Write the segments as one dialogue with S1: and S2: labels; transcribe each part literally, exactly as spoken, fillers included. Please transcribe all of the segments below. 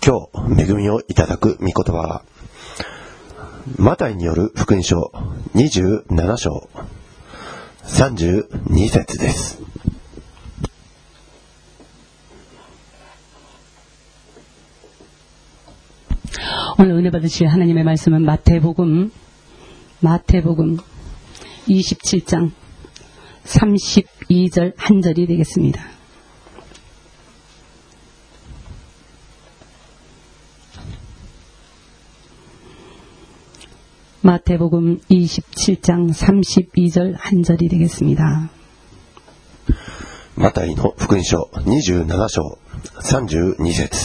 S1: 今日恵みをいただく御言葉はマタイによる福音書にじゅうなな章さんじゅうに節です。
S2: 오늘 은혜 받으실 하나님의 말씀은 마태복음 마태복음 이십칠 장 삼십이 절 한 절이 되겠습니다. 마태복음 이십칠 장 삼십이 절 한 절이 되겠습니다.
S1: マタイの福音書にじゅうなな章さんじゅうに節。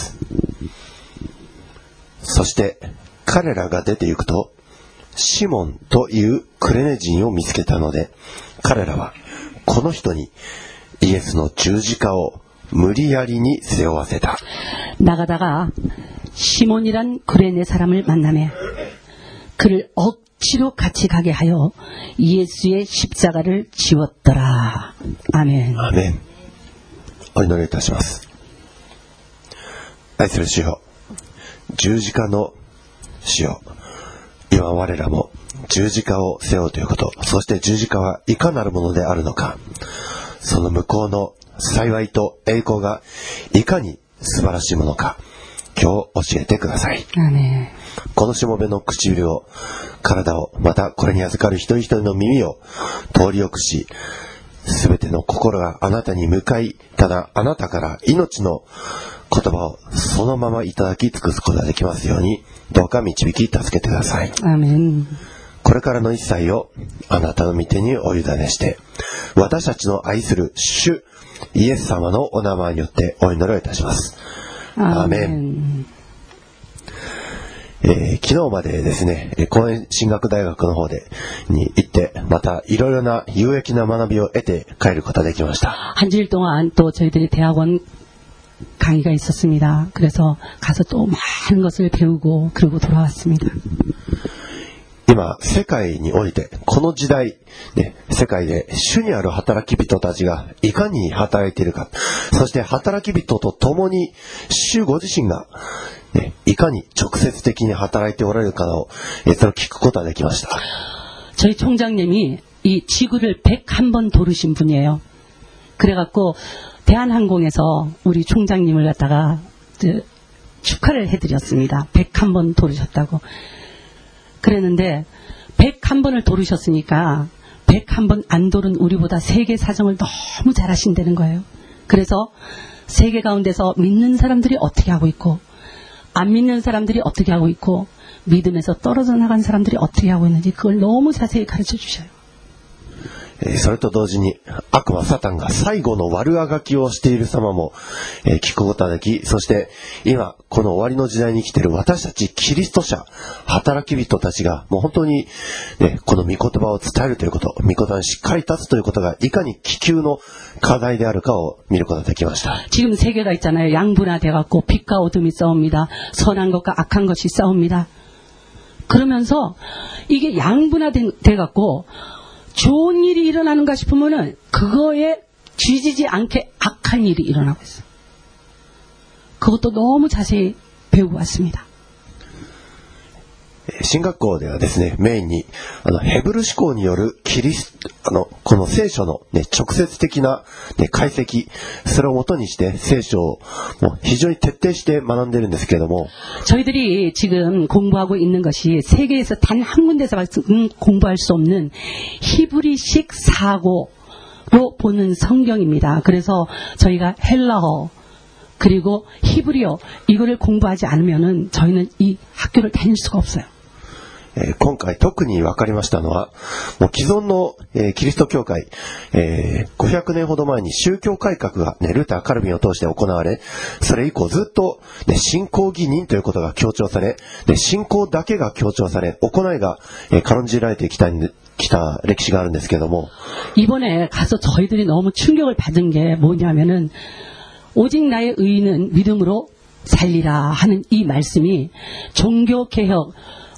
S1: そして彼らが出て行くとシモンというクレネ人を見つけたので、彼らはこの人にイエスの十字架を無理やりに背負わせた。
S2: 나가다가 시몬이란 구레네 사람을 만나매 그를 억지로 같이 가게 하여 예수의 십자가를 지웠더라. 아멘.
S1: アーメン。お祈りいたします。愛する主よ、十字架の主よ、今我らも十字架を背負うということ、そして十字架はいかなるものであるのか、その向こうの幸いと栄光がいかに素晴らしいものか、今日教えてください。
S2: アーメン。
S1: このしもべの唇を、体を、またこれに預かる一人一人の耳を通りよくし、すべての心があなたに向かい、ただあなたから命の言葉をそのままいただき尽くすことができますように、どうか導き助けてください。
S2: アーメン。
S1: これからの一切をあなたの御手にお委ねして、私たちの愛する主イエス様のお名前によってお祈りをいたします。アーメン。えー、昨日までですね、公園進学大学の方でに行って、またいろいろな有益な学びを得て帰ることができました。
S2: 한 주일 동안 또 저희들이 대학원 강의가 있었습니다. 그래서 가서 또 많은 것을 배우고 그러고 돌아왔습니다.
S1: 今世界においてこの時代、ね、世界で主にある働き人たちがいかに働いているか、そして働き人と共に主ご自身が、ね、いかに直接的に働いておられるかを、えそれを聞くことができました。
S2: 저희 총장님이 이 지구를 백일 번 도르신 분이에요. 그래갖고 대한항공에서 우리 총장님을 갖다가 축하를 해드렸습니다. 백일 번 도르셨다고. 그랬는데 백일 번을 도르셨으니까 백일 번 안 도른 우리보다 세계 사정을 너무 잘 하신다는 거예요. 그래서 세계 가운데서 믿는 사람들이 어떻게 하고 있고 안 믿는 사람들이 어떻게 하고 있고 믿음에서 떨어져 나간 사람들이 어떻게 하고 있는지 그걸 너무 자세히 가르쳐 주셔요.
S1: それと同時に悪魔サタンが最後の悪あがきをしている様も聞くことができ、そして今この終わりの時代に生きている私たちキリスト者働き人たちがもう本当に、ね、この御言葉を伝えるということ、御言葉にしっかり立つということがいかに危急の課題であるかを見ることができました。
S2: 지금 세계가 있잖아요. 양분화돼갖고 빛과 어둠이 싸웁니다. 선한 것과 악한 것이 싸웁니다. 그러면서 이게 양분화돼갖고 좋은 일이 일어나는가 싶으면은 그거에 쥐지지 않게 악한 일이 일어나고 있어요. 그것도 너무 자세히 배우고 왔습니다.
S1: 進学校ではですね、メインにあのヘブル思考によるキリスあのこの聖書の、ね、直接的な、ね、解析、それを元にして聖書をもう非常に徹底して学んでいるんですけれども、
S2: 저희들이 지금 공부하고 있는 것이 세계에서 단 한 군데서 공부할 수 없는 히브리식 사고로 보는 성경입니다. 그래서 저희가 헬라어 그리고 히브리어 이거를 공부하지 않으면은 저희는 이 학교를 다닐 수가 없어요.
S1: えー、今回特に分かりましたのは、もう既存の、えー、キリスト教会、えー、ごひゃくねんほど前に宗教改革が、ね、ルーター・カルビンを通して行われ、それ以降ずっと、ね、信仰義人ということが強調され、で信仰だけが強調され、行いが、えー、軽んじられてきた、きた歴史があるんですけれども、
S2: 이번에 가서 저희들이 너무 충격을 받은 게 뭐냐면은 오직 나의 의인은 믿음으로 살리라 하는 이 말씀이 종교개혁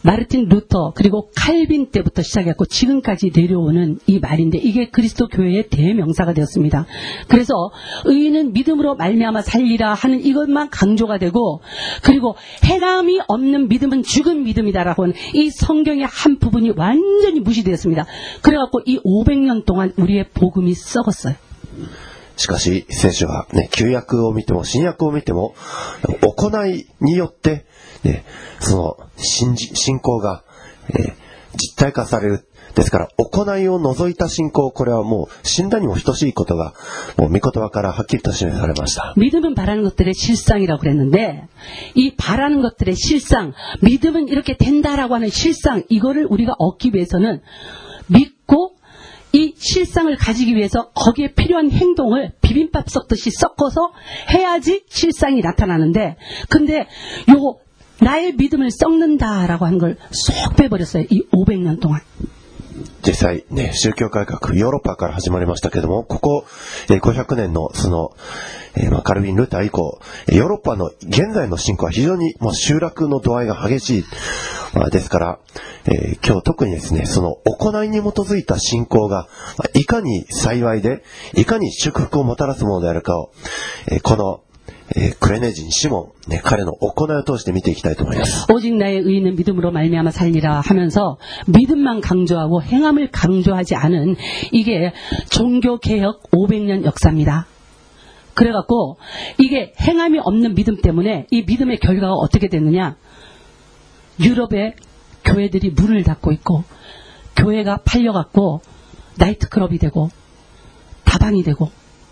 S2: 마르틴 루터 그리고 칼빈 때부터 시작했고 지금까지 내려오는 이 말인데 이게 그리스도 교회의 대명사가 되었습니다. 그래서 의인은 믿음으로 말미암아 살리라 하는 이것만 강조가 되고 그리고 행함이 없는 믿음은 죽은 믿음이다라고 하는 이 성경의 한 부분이 완전히 무시되었습니다. 그래갖고 이 오백 년 동안 우리의 복음이 썩었어요.
S1: しかし聖書は、ね、旧約を見ても新約を見ても行いによって、ね、その 信, じ信仰が、えー、実体化される。ですから行いを除いた信仰、これはもう死んだにも等しいことがもう御言葉からはっきりと示されました。
S2: 믿음은 바라는 것들의 실상이라고 그랬는데 이 바라는 것들의 실상, 믿음은 이렇게 된다라고 하는 실상, 이거를 우리가 얻기 위해서는 믿고 이 실상을 가지기 위해서 거기에 필요한 행동을 비빔밥 섞듯이 섞어서 해야지 실상이 나타나는데 근데 요거 나의 믿음을 썩는다라고 하는 걸 쏙 빼버렸어요. 이 오백 년 동안.
S1: 実際ね、宗教改革、ヨーロッパから始まりましたけども、ここ、えー、ごひゃくねんのその、えーまあ、カルビン・ルター以降、ヨーロッパの現在の信仰は非常にもう集落の度合いが激しい。まあ、ですから、えー、今日特にですね、その行いに基づいた信仰が、まあ、いかに幸いで、いかに祝福をもたらすものであるかを、えー、この、예, 그레네진 시몬, 네, 彼の行いを通して見ていきたいと思います.
S2: 오직 나의 의인은 믿음으로 말미암아 살리라 하면서 믿음만 강조하고 행함을 강조하지 않은 이게 종교개혁 오백 년 역사입니다. 그래갖고 이게 행함이 없는 믿음 때문에 이 믿음의 결과가 어떻게 됐느냐? 유럽의 교회들이 문을 닫고 있고 교회가 팔려갖고 나이트클럽이 되고 다방이 되고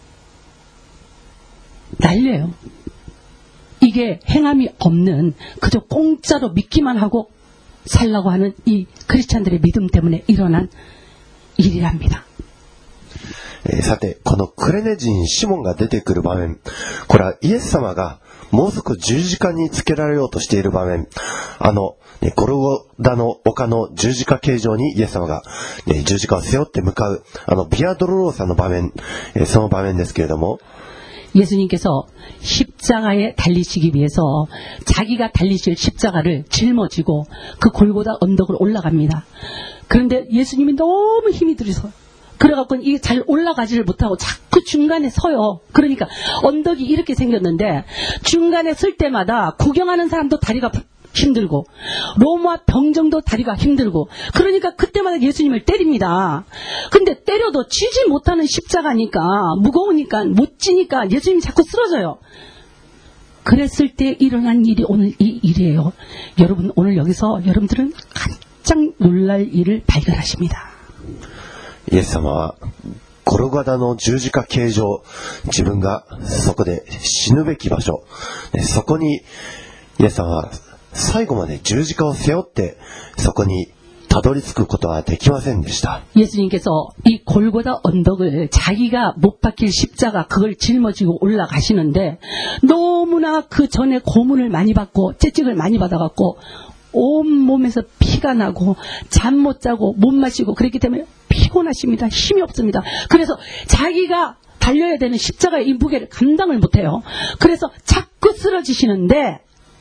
S2: 난리예요. 이게 행함이 없는 그저 공짜로 믿기만 하고 살라고 하는 이 크리스찬들의 믿음 때문에 일어난 일이랍니다.
S1: えー、さて、このクレネ人シモンが出てくる場面、これはイエス様がもうすぐ十字架につけられようとしている場面、あの、ね、ゴルゴダの丘の十字架形状にイエス様が、ね、十字架を背負って向かう、あのビアドロローサの場面、えー、その場面ですけれども、
S2: 예수님께서 십자가에 달리시기 위해서 자기가 달리실 십자가를 짊어지고 그 골고다 언덕을 올라갑니다. 그런데 예수님이 너무 힘이 들어서 그래갖고 이게 잘 올라가지를 못하고 자꾸 중간에 서요. 그러니까 언덕이 이렇게 생겼는데 중간에 설 때마다 구경하는 사람도 다리가 힘들고 로마 병정도 다리가 힘들고 그러니까 그때마다 예수님을 때립니다. 근데 때려도 치지 못하는 십자가니까 무거우니까 못 지니까 예수님이 자꾸 쓰러져요. 그랬을 때 일어난 일이 오늘 이 일이에요. 여러분 오늘 여기서 여러분들은 깜짝 놀랄 일을 발견하십니다.
S1: イエス様はゴルゴダの十字架形状、自分がそこで死ぬべき場所、そこにイエス様は最後まで十字架を背負ってそこにたどり着くことはできませんでした.
S2: 예수님께서 이 골고다 언덕을 자기가 못 박힐 십자가 그걸 짊어지고 올라가시는데 너무나 그 전에 고문을 많이 받고 채찍을 많이 받아갖고 온 몸에서 피가 나고 잠 못 자고 못 마시고 그랬기 때문에 피곤하십니다. 힘이 없습니다. 그래서 자기가 달려야 되는 십자가의 이 무게를 감당을 못해요. 그래서 자꾸 쓰러지시는데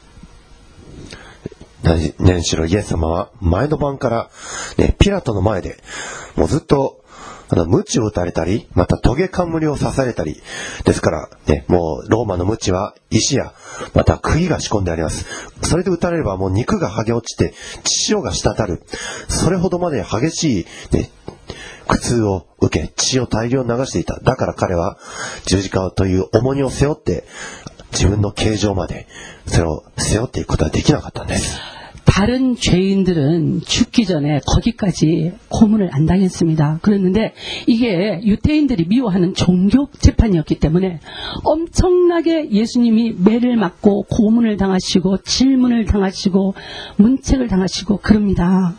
S1: 何しろイエス様は前の晩から、ね、ピラトの前でもうずっとあの鞭を打たれたりまたトゲ冠を刺されたりですから、ね、もうローマの鞭は石やまた釘が仕込んであります。それで打たれればもう肉が剥げ落ちて血潮が滴る、それほどまで激しい、ね、苦痛を受け血を大量に流していた。だから彼は十字架という重荷を背負って自分の形状までそれを背負っていくことはできなかったんです。
S2: 다른 죄인들은 죽기 전에 거기까지 고문을 안 당했습니다. 그랬는데 이게 유대인들이 미워하는 종교 재판이었기 때문에 엄청나게 예수님이 매를 맞고 고문을 당하시고 질문을 당하시고 문책을 당하시고 그럽니다.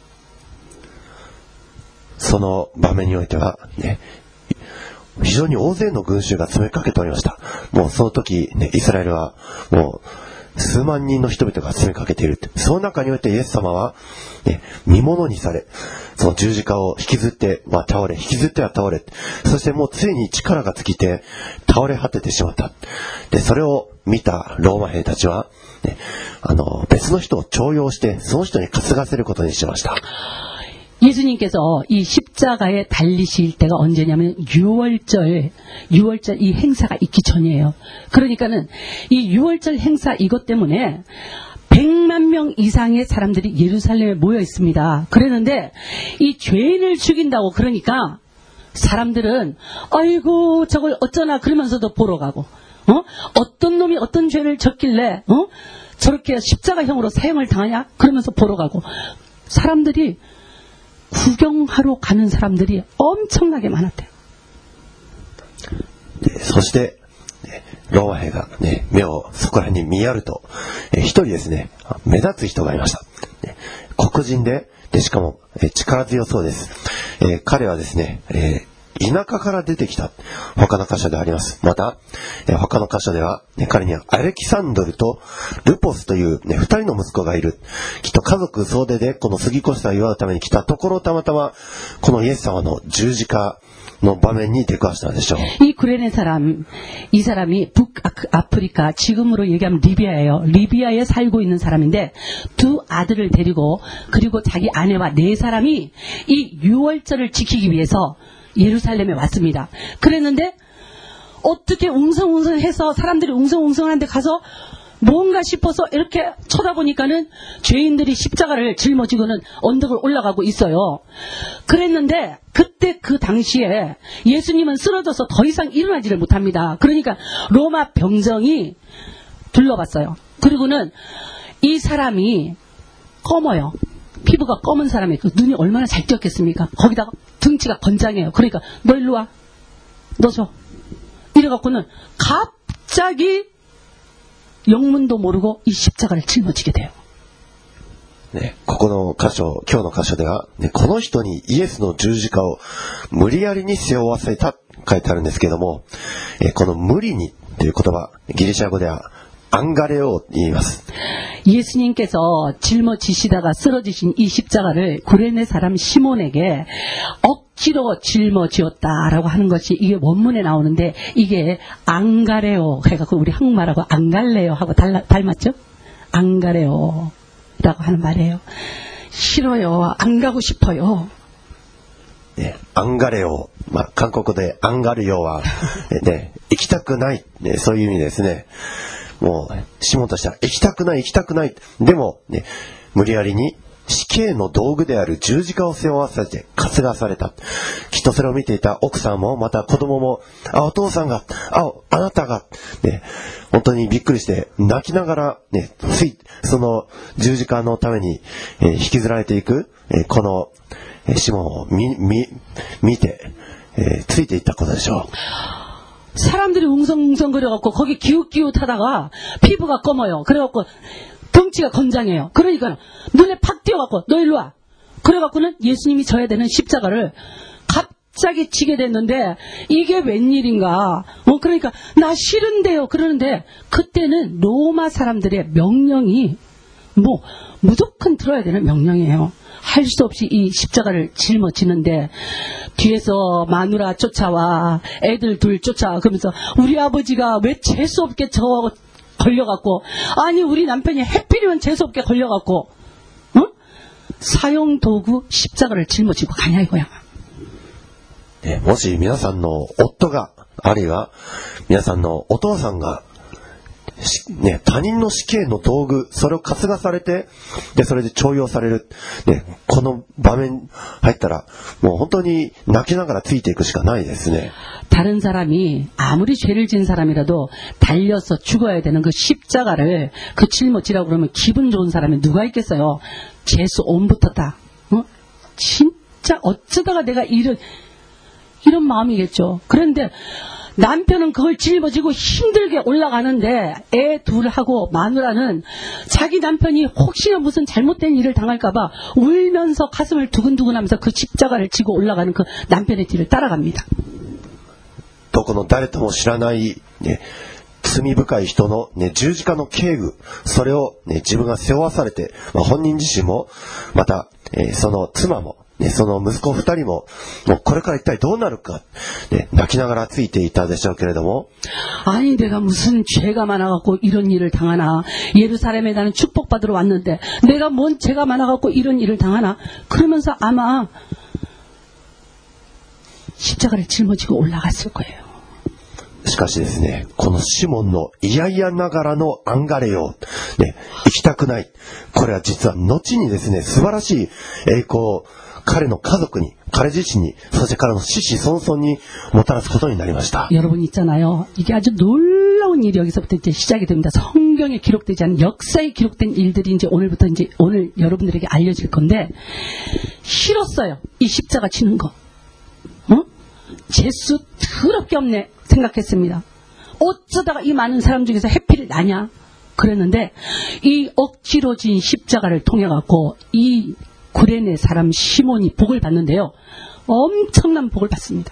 S1: その場面においてはね、非常に大勢の群衆が詰めかけておりました。もうその時、ね、イスラエルはもう数万人の人々が詰めかけている。その中においてイエス様は、ね、見物にされ、その十字架を引きずって、まあ、倒れ、引きずっては倒れ、そしてもうついに力が尽きて倒れ果ててしまった。で、それを見たローマ兵たちは、ね、あの別の人を重用してその人に担がせることにしました。
S2: 예수님께서 이 십자가에 달리실 때가 언제냐면 유월절, 유월절 이 행사가 있기 전이에요. 그러니까는 이 유월절 행사 이것 때문에 백만 명 이상의 사람들이 예루살렘에 모여 있습니다. 그랬는데 이 죄인을 죽인다고 그러니까 사람들은 아이고 저걸 어쩌나 그러면서도 보러 가고, 어? 어떤 놈이 어떤 죄를 졌길래 어? 저렇게 십자가형으로 사형을 당하냐? 그러면서 보러 가고, 사람들이 구경하러 가는 사람들이 엄청나게 많았대요.
S1: そしてローマ兵が、ね、目をそこら辺に見やると、え一人ですね、目立つ人がいました。ね、黒人で、でしかもえ力強そうです。えー、彼はですね、えー田舎から出てきた他の箇所であります。また、えー、他の箇所では、ね、彼にはアレキサンドルとルポスという、ね、二人の息子がいる。きっと家族総出でこの杉越を祝うために来たところ、たまたまこのイエス様の十字架の場面に出くわしたのでしょう。
S2: 이 구레네 사람, 이 사람이 북아프리카, 지금으로 얘기하면 리비아예요. 리비아에 살고 있는 사람인데 두 아들을 데리고 그리고 자기 아내와 네 사람이 이 유월절을 지키기 위해서 예루살렘에 왔습니다. 그랬는데 어떻게 웅성웅성해서 사람들이 웅성웅성한데 가서 뭔가 싶어서 이렇게 쳐다보니까는 죄인들이 십자가를 짊어지고는 언덕을 올라가고 있어요. 그랬는데 그때 그 당시에 예수님은 쓰러져서 더 이상 일어나지를 못합니다. 그러니까 로마 병정이 둘러봤어요. 그리고는 이 사람이 검어요. 피부가 검은 사람이 그 눈이 얼마나 잘 띄었겠습니까? 거기다가 등치가 건장해요. 그러니까 너 일로 와. 너 줘. 이래갖고는 갑자기 영문도 모르고 이 십자가를 짊어지게 돼요.
S1: ね、ここの箇所、今日の箇所では、ね、この人にイエスの十字架を無理やりに背負わせたと書いてあるんですけども、えこの無理にという言葉、ギリシャ語では안가레오と言います。
S2: 예수님께서 짊어지시다가 쓰러지신 이 십자가를 구레네 사람 시몬에게 억지로 짊어지었다라고 하는 것이 이게 원문에 나오는데 이게 안가레오 해갖고 우리 한국말하고 안갈래요 하고 달라, 닮았죠? 안가레오라고 하는 말이에요. 싫어요. 안 가고 싶어요.
S1: 네, 안가레오. まあ、韓国でアンガルヨは、ね、行きたくない、ね、そういう意味ですね。もうシモンとしては行きたくない行きたくない、でも、ね、無理やりに死刑の道具である十字架を背負わせて担がされた。きっとそれを見ていた奥さんもまた子供も、あ、お父さんが、あ、あなたが、ね、本当にびっくりして泣きながら、ね、ついその十字架のために、えー、引きずられていく、えー、この、えー、シモンを見、見、見て、えー、ついていったことでしょう。
S2: 사람들이 웅성웅성거려갖고 거기 기웃기웃하다가 피부가 검어요. 그래갖고 덩치가 건장해요. 그러니까 눈에 팍 띄어갖고 너 일로 와. 그래갖고는 예수님이 져야 되는 십자가를 갑자기 치게 됐는데 이게 웬일인가. 어 그러니까 나 싫은데요. 그러는데 그때는 로마 사람들의 명령이 뭐 무조건 들어야 되는 명령이에요. 할 수 없이 이 십자가를 짊어지는데 뒤에서 마누라 쫓아와 애들 둘 쫓아와 그러면서 우리 아버지가 왜 재수 없게 저 걸려갖고 아니 우리 남편이 해필이면 재수 없게 걸려갖고 어? 사형 도구 십자가를 짊어지고 가냐 이거야.
S1: 네, もし皆さんの夫があるいは皆さんのお父さんがね、他人の死刑の道具、それを担がされて、で、それで徴用される。ね、この場面入ったら、もう本当に泣きながらついていくしかないですね。
S2: 다른 사람이 아무리 죄를 지은 사람이라도 달려서 죽어야 되는 그 십자가를 그 짊어지라고 그러면 기분 좋은 사람이 누가 있겠어요? 재수 옴붙었다. 어? 진짜 어쩌다가 내가 이런 이런 마음이겠죠. 그런데 남편은 그걸 짊어지고 힘들게 올라가는데 애 둘하고 마누라는 자기 남편이 혹시나 무슨 잘못된 일을 당할까봐 울면서 가슴을 두근두근하면서 그 십자가를 지고 올라가는 그 남편의 뒤를 따라갑니다.
S1: どこの誰とも知らない、ね、 罪深い人の、ね、十字架の刑具、それを、ね、自分が背負わされて、まあ、本人自身も、また、えー、その妻も、ね、その息子二人も、もうこれから一体どうなるか、ね、泣きながらついていたでしょうけれども、
S2: 아니 내가 무슨 죄가 많아갖고 이런 일을 당하나. 예루살렘에 나는 축복받으러 왔는데 내가 뭔 죄가 많아갖고 이런 일을 당하나. 그러면서 아마 십자가를 짊어지고 올라갔을 거예요.
S1: しかしですね、このシモンのいやいやながらのアンガレよ、ね、行きたくない。これは実は後にですね、素晴らしい栄光を彼の家族に、彼自身に、そして彼の子々孫々にもたらすことになりました。
S2: 여러분 있잖아요. 이게 아주 놀라운 일이 여기서부터 이제 시작이 됩니다. 성경에 기록되지 않은 역사에 기록된 일들이 이제 오늘부터 이제 오늘 여러분들에게 알려질 건데, 싫었어요. 이 십자가 치는 거. 어? 재수 더럽게 없네 생각했습니다. 어쩌다가 이 많은 사람 중에서 해필 나냐 그랬는데, 이 억지로 진 십자가를 통해 갖고 이 구레네 사람 시몬이 복을 받는데요. 엄청난 복을 받습니다.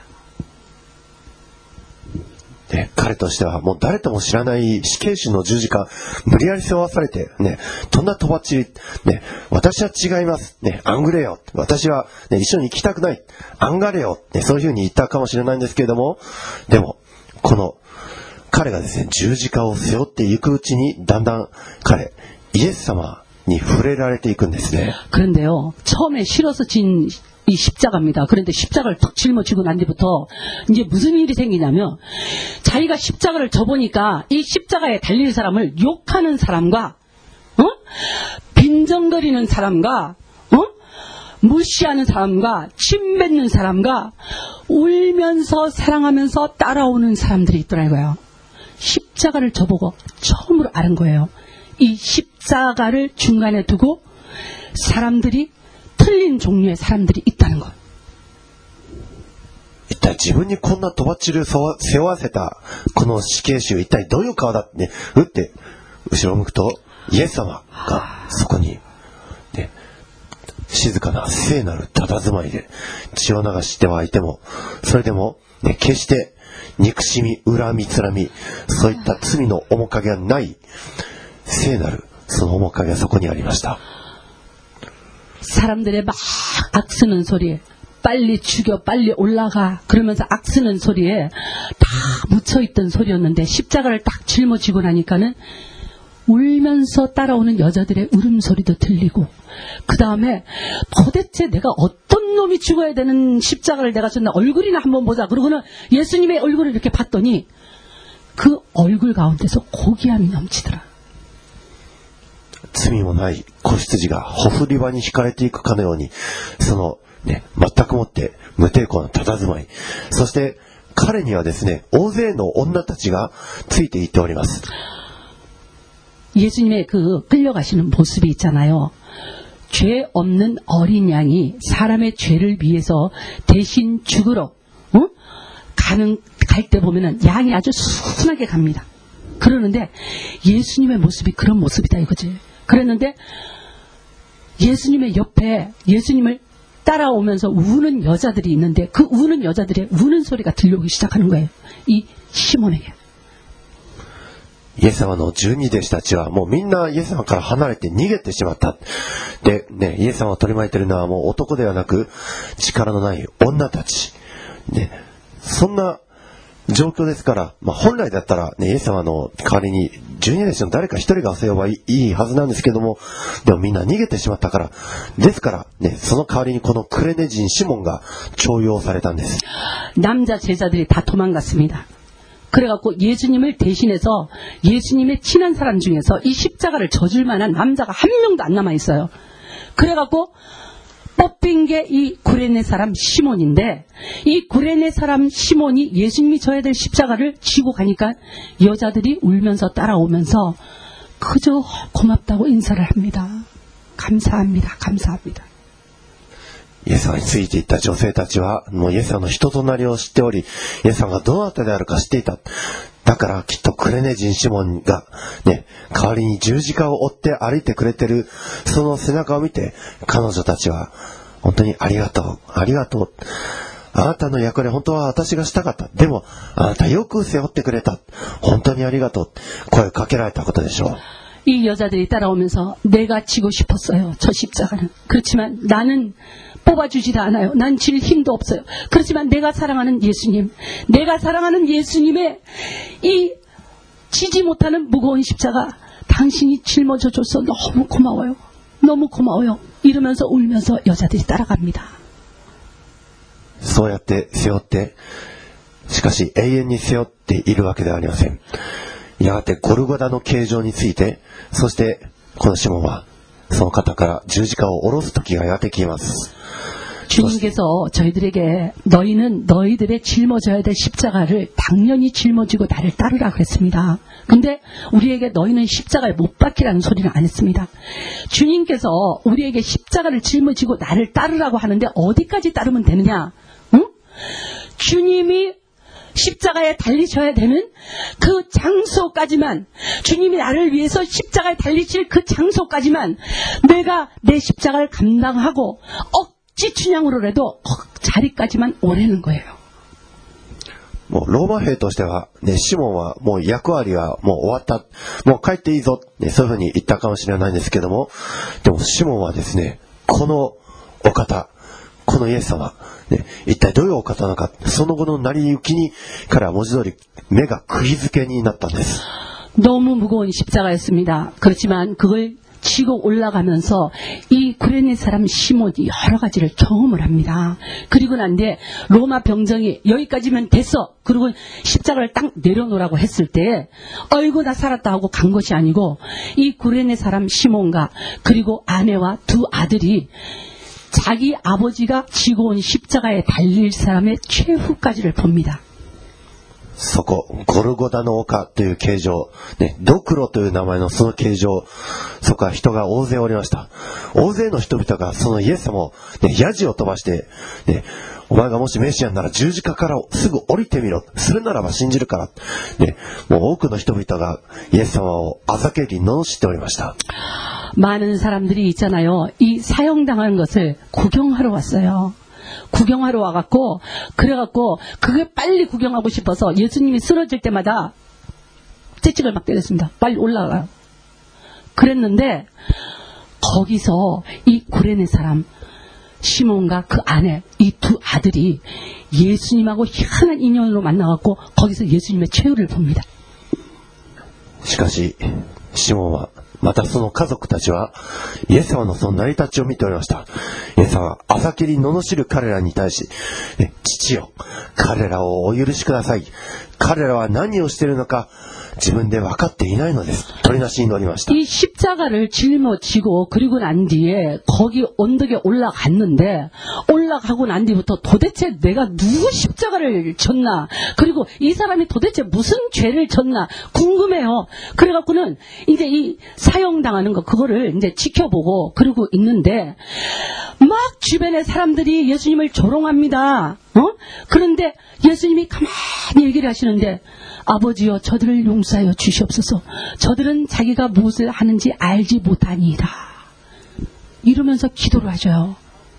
S1: ね、彼としてはもう誰とも知らない死刑囚の十字架無理やり背負わされて、ね、とんだとばっちり、ね、私は違います、ね、アングレよ、私は、ね、一緒に行きたくない、アンガレよ、ね、そういうふうに言ったかもしれないんですけれども、でもこの彼がですね、十字架を背負っていくうちにだんだん彼イエス様に触れられていくんですね。
S2: 그런데요, 처음에 실어서 진 이 십자가입니다. 그런데 십자가를 턱 짊어지고 난 뒤부터 이제 무슨 일이 생기냐면, 자기가 십자가를 져보니까 이 십자가에 달릴 사람을 욕하는 사람과, 어? 빈정거리는 사람과, 어? 무시하는 사람과, 침뱉는 사람과, 울면서 사랑하면서 따라오는 사람들이 있더라고요. 십자가를 져보고 처음으로 아는 거예요. 이 십자가를 중간에 두고 사람들이 틀린 종류의 사람들이 있다는 것.
S1: 一体自分にこんなとばっちりを背負わせたこの死刑囚、一体どういう顔だってね、打って後ろを向くとイエス様がそこに、ね、静かな聖なる佇まいで血を流してはいても、それでも、ね、決して憎しみ、恨み、つらみ、そういった罪の面影がない聖なるその面影がそこにありました。
S2: 사람들의 막 악쓰는 소리, 빨리 죽여, 빨리 올라가, 그러면서 악쓰는 소리에 다 묻혀있던 소리였는데, 십자가를 딱 짊어지고 나니까는 울면서 따라오는 여자들의 울음소리도 들리고, 그 다음에 도대체 내가 어떤 놈이 죽어야 되는 십자가를 내가 졌나, 얼굴이나 한번 보자. 그러고는 예수님의 얼굴을 이렇게 봤더니 그 얼굴 가운데서 고귀함이 넘치더라.
S1: 罪もない子羊がほふり場に引かれていくかのように、そのね、全くもって無抵抗な佇まい、そして彼にはですね、大勢の女たちがついていっております。
S2: 예수님의 그 끌려가시는 모습이 있잖아요. 죄 없는 어린 양이 사람의 죄를 위해서 대신 죽으러, 어? 가는 갈 때 보면은 양이 아주 순하게 갑니다. 그러는데 예수님의 모습이 그런 모습이다 이거지. 그랬는데 예수님의 옆에 예수님을 따라오면서 우는 여자들이 있는데, 그 우는 여자들의 우는 소리가 들려오기 시작하는 거예요. 이 시몬에게.
S1: イエス様の十二弟子たちはもうみんなイエス様から離れて逃げてしまった。で、ね、イエス様を取り巻いているのはもう男ではなく力のない女たち。ね、そんな状況ですから、まあ、本来だったら、ね、イエス様の代わりに十二弟子の誰か一人が背負えばいいはずなんですけども、でもみんな逃げてしまったから、ですから、ね、その代わりにこのクレネ人シモンが重用されたんです。
S2: 남자 제자들이 다 도망갔습니다. 그래갖고 예수님을 대신해서 예수님의 친한 사람 중에서 이 십자가를 져줄 만한 남자가 한 명도 안 남아있어요. 그래갖고 뽑힌 게 이 구레네 사람 시몬인데, 이 구레네 사람 시몬이 예수님이 져야 될 십자가를 지고 가니까 여자들이 울면서 따라오면서 그저 고맙다고 인사를 합니다. 감사합니다. 감사합니다.
S1: イエス様についていった女性たちはもうイエス様の人となりを知っており、イエス様がどなたであるか知っていた。だからきっとクレネ人シモンがね、代わりに十字架を追って歩いてくれてるその背中を見て、彼女たちは本当にありがとう、ありがとう、 あなたの役割本当は私がしたかった。でもあなたよく背負ってくれた。本当にありがとう。声をかけられたことでしょう。
S2: 이 여자들이 따라오면서 내가 지고 싶었어요. 저 십자가는. 그렇지만 나는 뽑아주지도 않아요. 난 질 힘도 없어요. 그렇지만 내가 사랑하는 예수님, 내가 사랑하는 예수님의 이 지지 못하는 무거운 십자가 당신이 짊어져 줘서 너무 고마워요. 너무 고마워요. 이러면서 울면서 여자들이 따라갑니다.
S1: そうやって背負って、しかし永遠に背負っているわけではありません。やがてゴルゴダの形状について、そしてこのシモンはその方から十字架を下ろす時がやってきます。
S2: 주님께서 저희들에게 너희는 너희들의 짊어져야 될 십자가를 당연히 짊어지고 나를 따르라 그랬습니다. 근데 우리에게 너희는 십자가에 못 박히라는 소리는 안 했습니다. 주님께서 우리에게 십자가를 짊어지고 나를 따르라고 하는데 어디까지 따르면 되느냐? 응? 주님이 십자가에 달리셔야 되는 그 장소까지만, 주님이 나를 위해서 십자가에 달리실 그 장소까지만 내가 내 십자가를 감당하고 억지 춘향으로라도 자리까지만 오래는 거예요.
S1: もうローマ兵としては、ね、シモンはもう役割はもう終わった、もう帰っていいぞ、ね、そういうふうに言ったかもしれないんですけども、でもシモンはですね、このお方、このイエス様、ね、一体どういうお方なのか、その後の成り行きにから文字通り目が釘付けになったんです。
S2: 너무 무거운 십자가였습니다. 그렇지만 그걸 치고 올라가면서 이 구레네 사람 시몬이 여러 가지를 경험을 합니다. 그리고 난 뒤에 로마 병정이 여기까지면 됐어. 그리고 십자가를 딱 내려놓으라고 했을 때 어이구 나 살았다 하고 간 것이 아니고 이 구레네 사람 시몬과 그리고 아내와 두 아들이 자기 아버지가 지고 온 십자가에 달릴 사람의 최후까지를 봅니다.
S1: そこ、ゴルゴダの丘という形状、ね、ドクロという名前のその形状、そこは人が大勢おりました。大勢の人々がそのイエス様を、ね、ヤジを飛ばして、ね、お前がもしメシアなら十字架からすぐ降りてみろ。するならば信じるから。ね、もう多くの人々がイエス様をあざけり罵っておりました。
S2: 많은 사람들이 있잖아요. 이 사형당한 것을 구경하러 왔어요. 구경하러 와갖고 그래갖고 그게 빨리 구경하고 싶어서 예수님이 쓰러질 때마다 채찍을 막 때렸습니다. 빨리 올라가요. 그랬는데 거기서 이 구레네 사람 시몬과 그 아내 이 두 아들이 예수님하고 희한한 인연으로 만나갖고 거기서 예수님의 최후를 봅니다.
S1: しかしシモンはまたその家族たちはイエス様のその成り立ちを見ておりました。イエス様はあざけり罵る彼らに対し、父よ、彼らをお許しください。彼らは何をしているのか自分で分かっていないのです。取りなしに乗りました。
S2: 이 십자가를 짊어지고 그리고 난 뒤에 거기 언덕에 올라갔는데 올라가고 난 뒤부터 도대체 내가 누구 십자가를 졌나, 그리고 이 사람이 도대체 무슨 죄를 졌나 궁금해요. 그래갖고는 이제 이 사형당하는 거 그거를 이제 지켜보고 그러고 있는데 막 주변의 사람들이 예수님을 조롱합니다. 어? 그런데 예수님이 가만히 얘기를 하시는데 아버지여 저들을 용서하여 주시옵소서. 저들은 자기가 무엇을 하는지 알지 못하니이다. 이러면서 기도를 하셔요.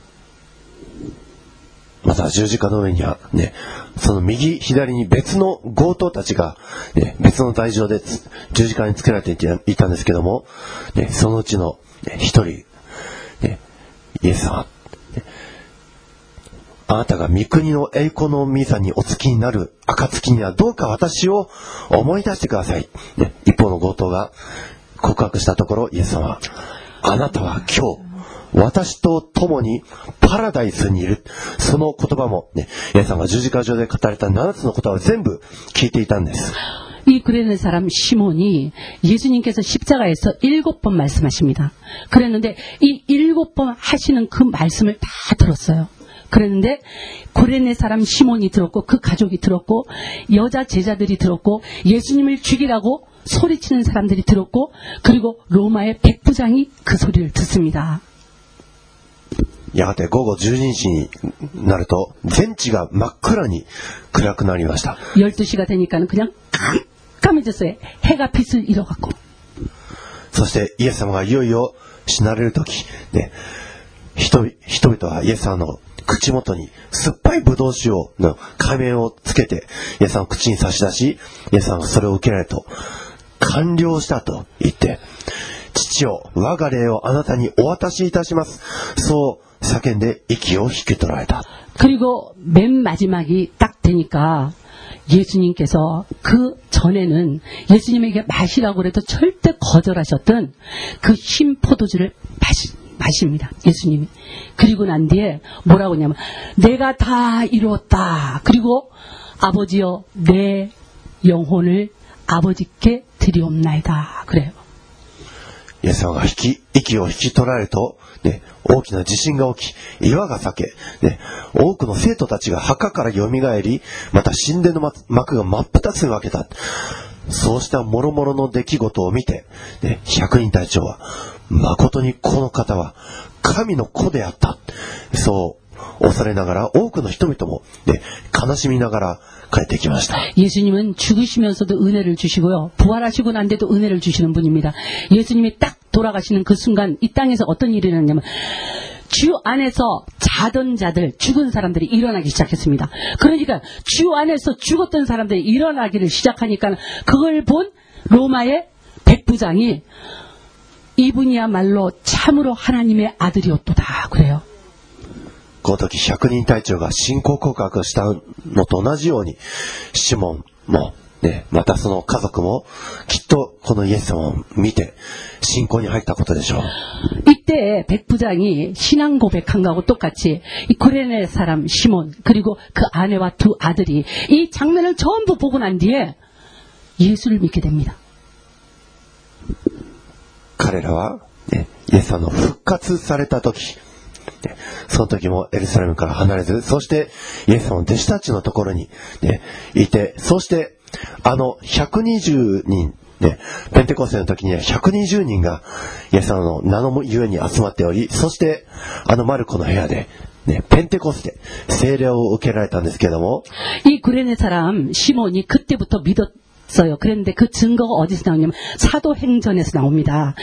S1: また十字架の上にはね、その右左に別の強盗たちが、ね、別の台上で十字架につけられていたんですけども、ね、そのうちの一人、ね、イエス様、ね、あなたが御国の栄光の御座にお付きになる暁にはどうか私を思い出してください。ね、一方の強盗が告白したところ、イエス様はあなたは今日私と共にパラダイスにいる。その言葉もね、イエス様が十字架上で語られたななつの言葉を全部聞いていたんです。
S2: 이 구레네 사람 시몬이 예수님께서 십자가에서 일곱 번 말씀하십니다. 그랬는데 이 일곱 번 하시는 그 말씀을 다 들었어요. 그랬는데 구레네 사람 시몬이 들었고 그 가족이 들었고 여자 제자들이 들었고 예수님을 죽이라고 소리치는 사람들이 들었고 그리고 로마의 백부장이 그 소리를 듣습니다.
S1: やがて午後じゅうにじになると全地が真っ暗に暗くなりました。
S2: 열두 시가 되니까는 그냥 깜깜해졌어요. 해가 빛을 잃어갖고.
S1: そしてイエス様がいよいよ死なれる時、ね、人, 人々はイエス様の口元に酸っぱいブドウ酒をの仮面をつけてイエス様を口に差し出し、イエス様がそれを受けられると、完了したと言って、父よ、我が霊をあなたにお渡しいたします。そう叫んで息を引き取られた。
S2: 그리고 맨 마지막이 딱 되니까 예수님께서 그 전에는 예수님에게 마시라고 그래도 절대 거절하셨던 그 흰 포도주를 마시, 마십니다. 예수님이. 그리고 난 뒤에 뭐라고 하냐면 내가 다 이루었다. 그리고 아버지여 내 영혼을 아버지께 드리옵나이다. 그래요.
S1: イエス様が引き息を引き取られると、ね、大きな地震が起き、岩が裂け、ね、多くの生徒たちが墓からよみがえり、また神殿の幕が真っ二つに分けた。そうした諸々の出来事を見て、ね、百人隊長は誠にこの方は神の子であった。そう恐れながら多くの人々も、ね、悲しみながら帰ってきました。
S2: 예수님은 죽으시면서도 은혜를 주시고요. 부활하시고 난 데도 은혜를 주시는 분입니다. 예수님이 딱 돌아가시는 그 순간 이 땅에서 어떤 일이 일어났냐면 주 안에서 자던 자들, 죽은 사람들이 일어나기 시작했습니다. 그러니까 주 안에서 죽었던 사람들이 일어나기를 시작하니까 그걸 본 로마의 백부장이 이분이야말로 참으로 하나님의 아들이었도다. 그래요.
S1: この時百人隊長が信仰告白したのと同じように、シモンも、ね、またその家族もきっとこのイエス様を見て信仰に入ったことでしょう。
S2: 이때 백부장이 신앙 고백한 거하고 똑같이 이 구레네 사람 시몬 그리고 그 아내와 두 아들이 이 장면을 전부 보고 난 뒤에 예수를 믿게 됩니다.
S1: 彼らは、ね、イエス様の復活された時、その時もエルサレムから離れず、そしてイエス様の弟子たちのところに、ね、いて、そしてあのひゃくにじゅうにん、ね、ペンテコステの時にはひゃくにじゅうにんがイエス様の名のゆえに集まっており、そしてあのマルコの部屋で、ね、ペンテコステ聖霊を受けられたんですけれども、
S2: 이 구레네 사람 시몬이 그때부터 믿었어요. 그런데 그 증거가 어디서 나오냐면 사도행전에서 나옵니다.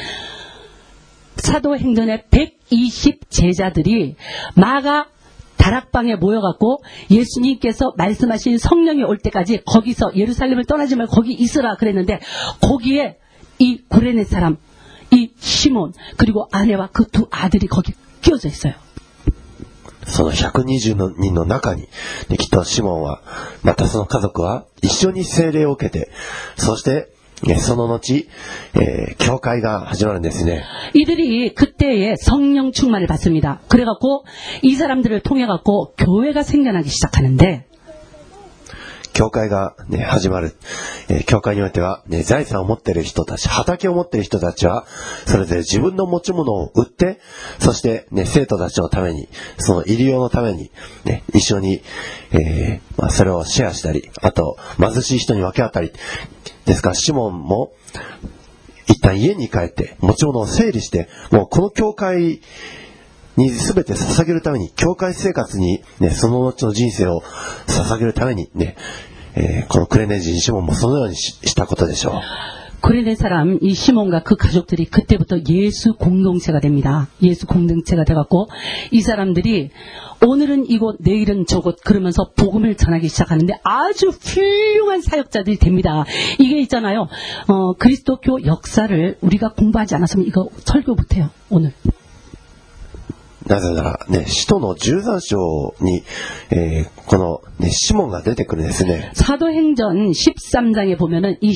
S2: 사도행전의 백이십 제자들이 마가 다락방에 모여갖고 예수님께서 말씀하신 성령이 올 때까지 거기서 예루살렘을 떠나지 말고 거기 있으라 그랬는데 거기에 이 구레네 사람, 이 시몬 그리고 아내와 그 두 아들이 거기 끼워져 있어요.
S1: そのひゃくにじゅうにんの中に、ね、きっとシモンはまたその家族は一緒に聖霊を受けて、そしてその後、えー、教会が始まるんですね。
S2: 이들이 그때에 성령 충만을 받습니다. 그래갖고 이 사람들을 통해갖고 교회가 생겨나기 시작하는데
S1: 教会が、ね、始まる、えー、教会においては、ね、財産を持っている人たち、畑を持っている人たちはそれぞれ自分の持ち物を売って、そして、ね、生徒たちのために、その入り用のために、ね、一緒に、えーまあ、それをシェアしたり、あと貧しい人に分け与えたりですから、シモンも一旦家に帰って持ち物を整理して、もうこの教会に全て捧げるために、教会生活に、ね、その後の人生を捧げるためにね、えー、このクレネ人シモンもそのように し, したことでしょう。
S2: 구레네 사람 이 시몬과 그 가족들이 그때부터 예수 공동체가 됩니다. 예수 공동체가 돼갖고 이 사람들이 오늘은 이곳 내일은 저곳 그러면서 복음을 전하기 시작하는데 아주 훌륭한 사역자들이 됩니다. 이게 있잖아요. 어, 그리스도교 역사를 우리가 공부하지 않았으면 이거 설교 못해요. 오늘.
S1: なぜならね、使徒のじゅうさん章に、えー、この、ね、シモンが出てくるんですね。
S2: 사도행전 십삼 장에 보면은 이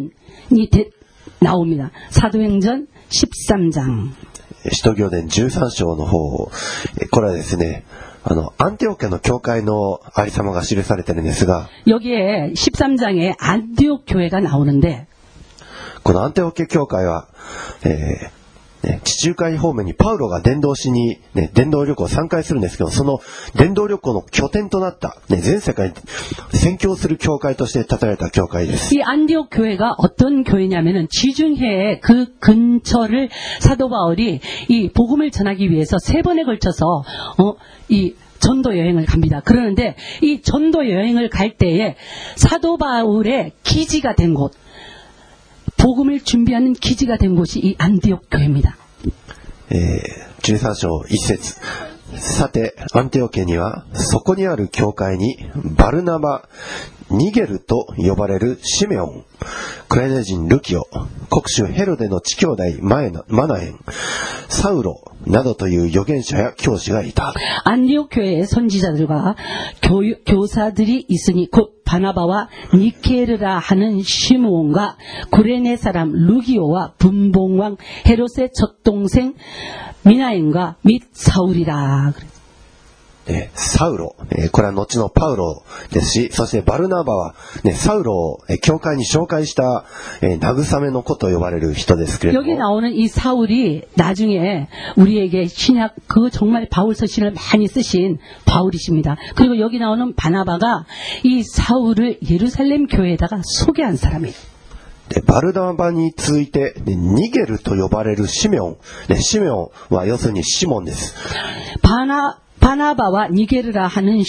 S2: 시몬이 대, 나옵니다. 사도행전 십삼 장.
S1: 使徒行伝じゅうさん章の方、これはですね、あのアンテオケの教会のありさまが記されてるんですが、
S2: 여기에 십삼 장에 안디옥 교회가 나오는데
S1: このアンテオケ教会は、えーね、地中海方面にパウロが伝道しに、ね、伝道旅行をさんかいするんですけど、その伝道旅行の拠点となった、ね、全世界に宣教する教会として建てられた教会です。
S2: 이 안디옥 교회가 어떤 교회냐면은 지중해의 그 근처를 사도 바울이 이 복음을 전하기 위해서 세 번에 걸쳐서 어, 이 전도 여행을 갑니다. 그러는데 이 전도 여행을 갈 때에 사도 바울의 기지가 된 곳, 복음을 준비하는 기지가 된 곳이 이 안디옥 교회입니다.
S1: えー、じゅうさん章いち節、 さて、アンテオ家には、そこにある教会に、バルナバ、ニゲルと呼ばれるシメオン、クレネ人ルキオ、国主ヘロデの地兄弟マエナマナエン、サウロなどという預言者や教師がいた。
S2: 안디옥 교회의 선지자들과 교유, 교사들이 있으니 곧 바나바와 니케르라 하는 시므온과 구레네 사람 루기오와 분봉왕 헤롯의 젖동생 미나엔과 및 사울이라.
S1: えーサウロ、えーこれは後のパウロですし、そしてバルナバは、ね、サウロを、えー教会に紹介した、えー慰めの子と呼ばれる人ですけれど
S2: 여기
S1: も、
S2: 나오는 이 사울이 나중에 우리에게 신약 그 정말 바울 서신을 많이 쓰신 바울이십니다. 그리고 여기 나오는 바나바가 이 사울을 예루살렘 교회에다가 소개한 사람이에요.
S1: でバルナバに続いて、ねニゲルと呼ばれるシメオン、ね、シメオンは要するにシモンです。
S2: 바나 바나바와 니게르라 하는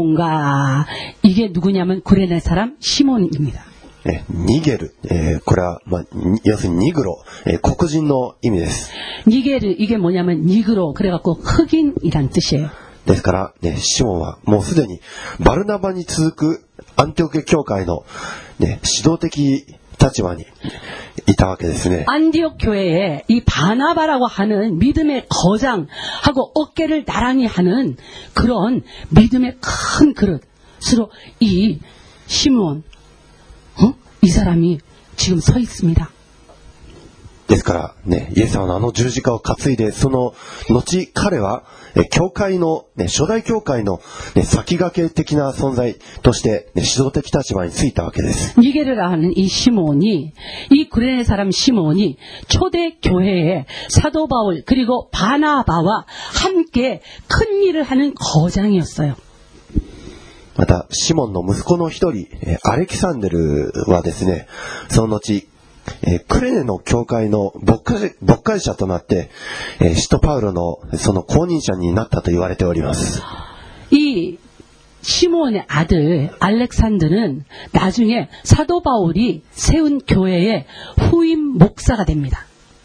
S2: 시몬가 이게 누구냐면 구레네 사람 시몬입니다.
S1: えニゲル、えーこれは、まあ、に要するにニグロ、えー黒人の意味です。
S2: 니게르 이게 뭐냐면 니그로 그래갖고 흑인이란 뜻이에요.
S1: ですから、ね、シモンはもうすでにバルナバに続くアンテオケ教会の、ね、指導的立場にいたわけですね。
S2: 안디옥 교회에 이 바나바라고 하는 믿음의 거장하고 어깨를 나란히 하는 그런 믿음의 큰 그릇으로 이 시므온, 어? 이 사람이 지금 서 있습니다.
S1: ですからね、イエス様のあの十字架を担いで、その後彼はえ教会の、ね、初代教会の、ね、先駆け的な存在として、ね、指導的立場についたわけです。
S2: 니게르라 하는 이 시몬이 이 구레네 사람 시몬이 초대 교회에 사도 바울 그리고 바나바와 함께 큰 일을 하는 거장이었어요.
S1: またシモンの息子の一人えアレキサンデルはですね、その後えークレネの教会の牧会牧会者となって、えー、使徒パウロのその後任者になったと言われております。
S2: 이 시몬의 아들 알렉산드는 나중에 사도 바울이 세운 교회의 후임 목사가 됩니다.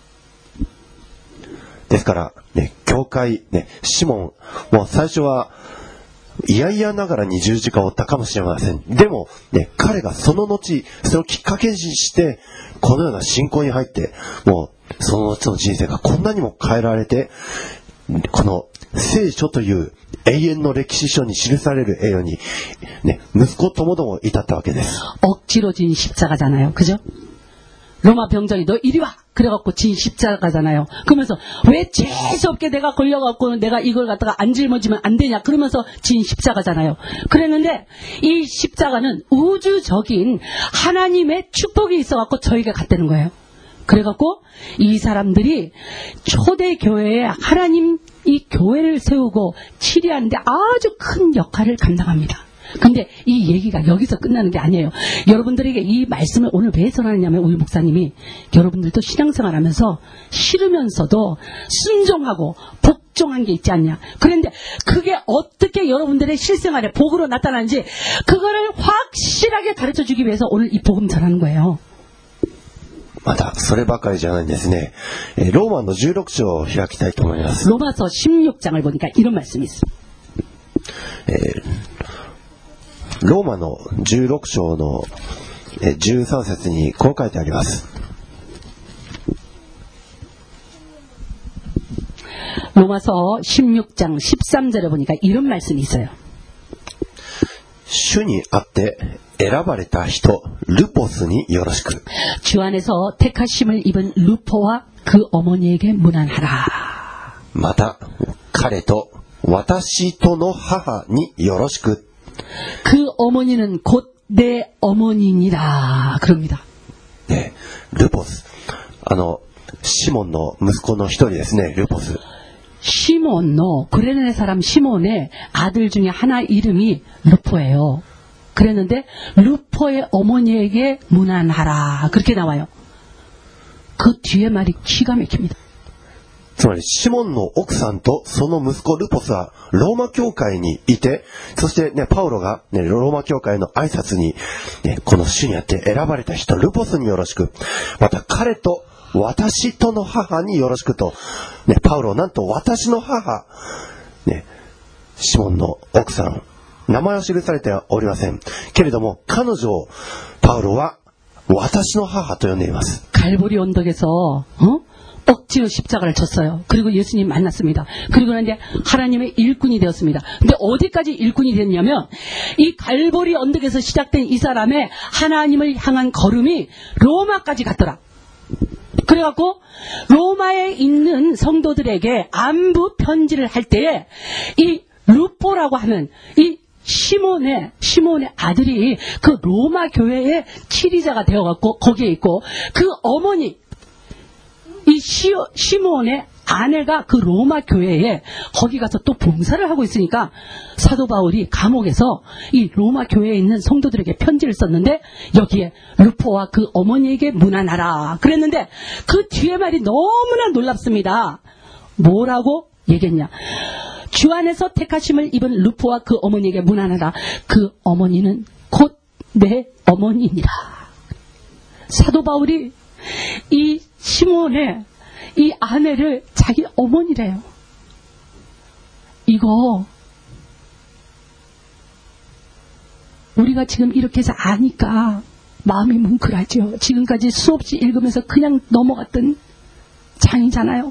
S1: ですから、ね、教会、ね、シモンもう最初はいやいやながらに十字架を負ったかもしれません。でも、ね、彼がその後それをきっかけにしてこのような信仰に入って、もうその後の人生がこんなにも変えられて、この聖書という永遠の歴史書に記される栄誉に、ね、息子ともども至ったわけです。
S2: 억지로 진 십자가잖아요. 그죠? 로마 병정이 너 이리 와! 그래갖고 진 십자가잖아요. 그러면서 왜 재수없게 내가 걸려갖고 내가 이걸 갖다가 안 짊어지면 안 되냐. 그러면서 진 십자가잖아요. 그랬는데 이 십자가는 우주적인 하나님의 축복이 있어갖고 저에게 갔다는 거예요. 그래갖고 이 사람들이 초대 교회에 하나님 이 교회를 세우고 치리하는데 아주 큰 역할을 감당합니다. 근데 이 얘기가 여기서 끝나는 게 아니에요. 여러분들에게 이 말씀을 오늘 왜 전하느냐면 우리 목사님이 여러분들도 신앙생활 하면서 싫으면서도 순종하고 복종한 게 있지 않냐. 그런데 그게 어떻게 여러분들의 실생활에 복으로 나타나는지 그거를 확실하게 가르쳐 주기 위해서 오늘 이 복음 전하는 거예요.
S1: またそればかりじゃないんですね。えーローマのじゅうろく章を開きたいと思います。
S2: 로마서 십육 장을 보니까 이런 말씀이 있습니다.
S1: えーローマのじゅうろく章のえーじゅうさん節にこう書いてあります。
S2: 로마서 십육 장 십삼 절에 보니까 이런 말씀이 있어요.
S1: 主にあって選ばれた人ルポスによろしく。
S2: 주 안에서 택하심을 입은 루포와 그 어머니에게 문안하라.
S1: また彼と私との母によろしく。
S2: 그 어머니는 곧 내 어머니니라. 그럽니다.
S1: 네, 루포스. あのシモンの息子の一人ですね、ルポス。
S2: 시몬노 구레네 사람 시몬의 아들 중에 하나 이름이 루포예요. 그랬는데 루포의 어머니에게 문안하라. 그렇게 나와요. 그 뒤에 말이 기가 막힙니다.
S1: つまりシモンの奥さんとその息子ルポスはローマ教会にいて、そしてねパウロがねローマ教会の挨拶に、ね、この主にあって選ばれた人ルポスによろしく、また彼と私との母によろしくと、ね、パウロなんと私の母ね、シモンの奥さん、名前は記されてはおりません。けれども、彼女をパウロは私の母と呼んでいます。
S2: 갈보리 언덕에서 어? 억지로 십자가를 쳤어요. 그리고 예수님 만났습니다. 그리고 이제 하나님의 일꾼이 되었습니다. 근데 어디까지 일꾼이 됐냐면 이 갈보리 언덕에서 시작된 이 사람의 하나님을 향한 걸음이 로마까지 갔더라. 그래갖고 로마에 있는 성도들에게 안부 편지를 할 때에 이 루포라고 하는 이 시몬의 시몬의 아들이 그 로마 교회의 치리자가 되어갖고 거기에 있고 그 어머니 이 시, 시몬의 아내가 그 로마 교회에 거기 가서 또 봉사를 하고 있으니까 사도 바울이 감옥에서 이 로마 교회에 있는 성도들에게 편지를 썼는데 여기에 루포와 그 어머니에게 문안하라 그랬는데 그 뒤에 말이 너무나 놀랍습니다. 뭐라고 얘기했냐? 주 안에서 택하심을 입은 루포와 그 어머니에게 문안하라. 그 어머니는 곧 내 어머니니라. 사도 바울이 이 시몬의 이 아내를 자기 어머니래요. 이거 우리가 지금 이렇게 해서 아니까 마음이 뭉클하죠. 지금까지 수없이 읽으면서 그냥 넘어갔던 장이잖아요.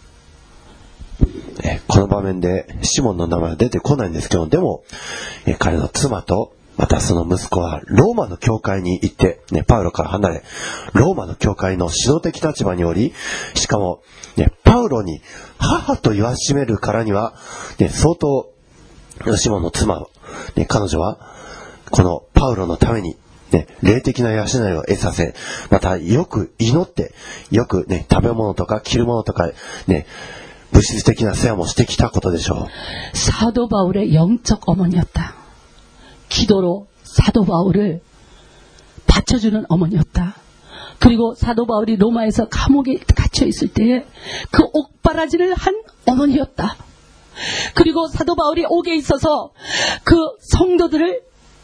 S1: この場面でシモンの名前は出てこないんですけど、でも彼の妻とまたその息子はローマの教会に行って、ね、パウロから離れローマの教会の指導的立場におり、しかも、ね、パウロに母と言わしめるからには、ね、相当シモンの妻、ね、彼女はこのパウロのために、ね、霊的な養いを得させ、またよく祈ってよく、ね、食べ物とか着るものとか、ね、物質的な世話もしてきたことでしょう。
S2: 사도 바울의 영적 어머니였다. 기도로 사도 바울을 받쳐주는 어머니였다. 그리고 사도 바울이 로마에서 감옥에 갇혀 있을 때에 그 옥바라지를 한 어머니였다. 그리고 사도 바울이 옥에 있어서 그 성도들을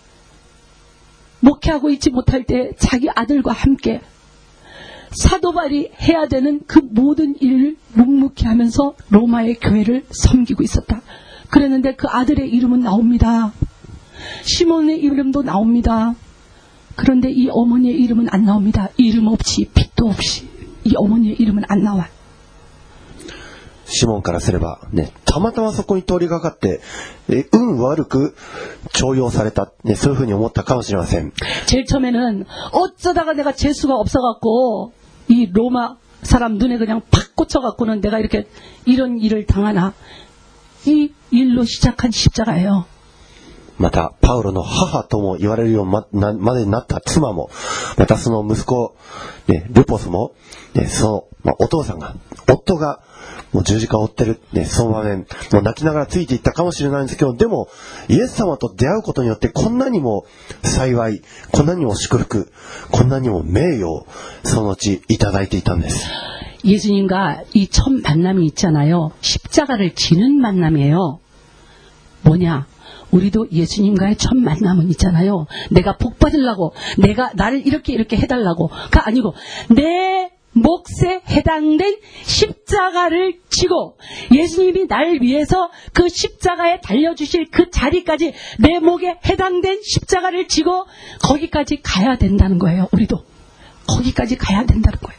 S2: 목회하고 있지 못할 때 자기 아들과 함께 사도 바울이 해야 되는 그 모든 일을 묵묵히 하면서 로마의 교회를 섬기고 있었다. 그랬는데 그 아들의 이름은 나옵니다. 시몬의 이름도 나옵니다. 그런데 이 어머니의 이름은 안 나옵니다. 이름 없이 빛도 없이 이 어머니의 이름은 안 나와요.
S1: シモンからすれば、ね、たまたまそこに通りがかって、え運悪く重用された、ね、そういうふうに思ったかもしれません。
S2: 제일 처음에는 어쩌다가 내가 재수가 없어갖고 이 로마 사람 눈에 그냥 팍 꽂혀갖고는 내가 이렇게 이런 일을 당하나. 이 일로 시작한 십자가예요.
S1: またパウロの母とも言われるよう ま, なまでになった妻も、またその息子、ね、ルポスも、ね、その、まあ、お父さんが夫がもう十字架を追ってる、ね、その場面もう泣きながらついていったかもしれないんですけど、でもイエス様と出会うことによってこんなにも幸い、こんなにも祝福、こんなにも名誉をその後いただいていたんです。
S2: 예수님과 이 첫 만남이 있잖아요. 십자가를 지는 만남이에요. 뭐냐? 우리도 예수님과의 첫 만남은 있잖아요. 내가 복 받으려고, 내가 나를 이렇게 이렇게 해달라고가 아니고 내 몫에 해당된 십자가를 지고 예수님이 나를 위해서 그 십자가에 달려주실 그 자리까지 내 목에 해당된 십자가를 지고 거기까지 가야 된다는 거예요. 우리도 거기까지 가야 된다는 거예요.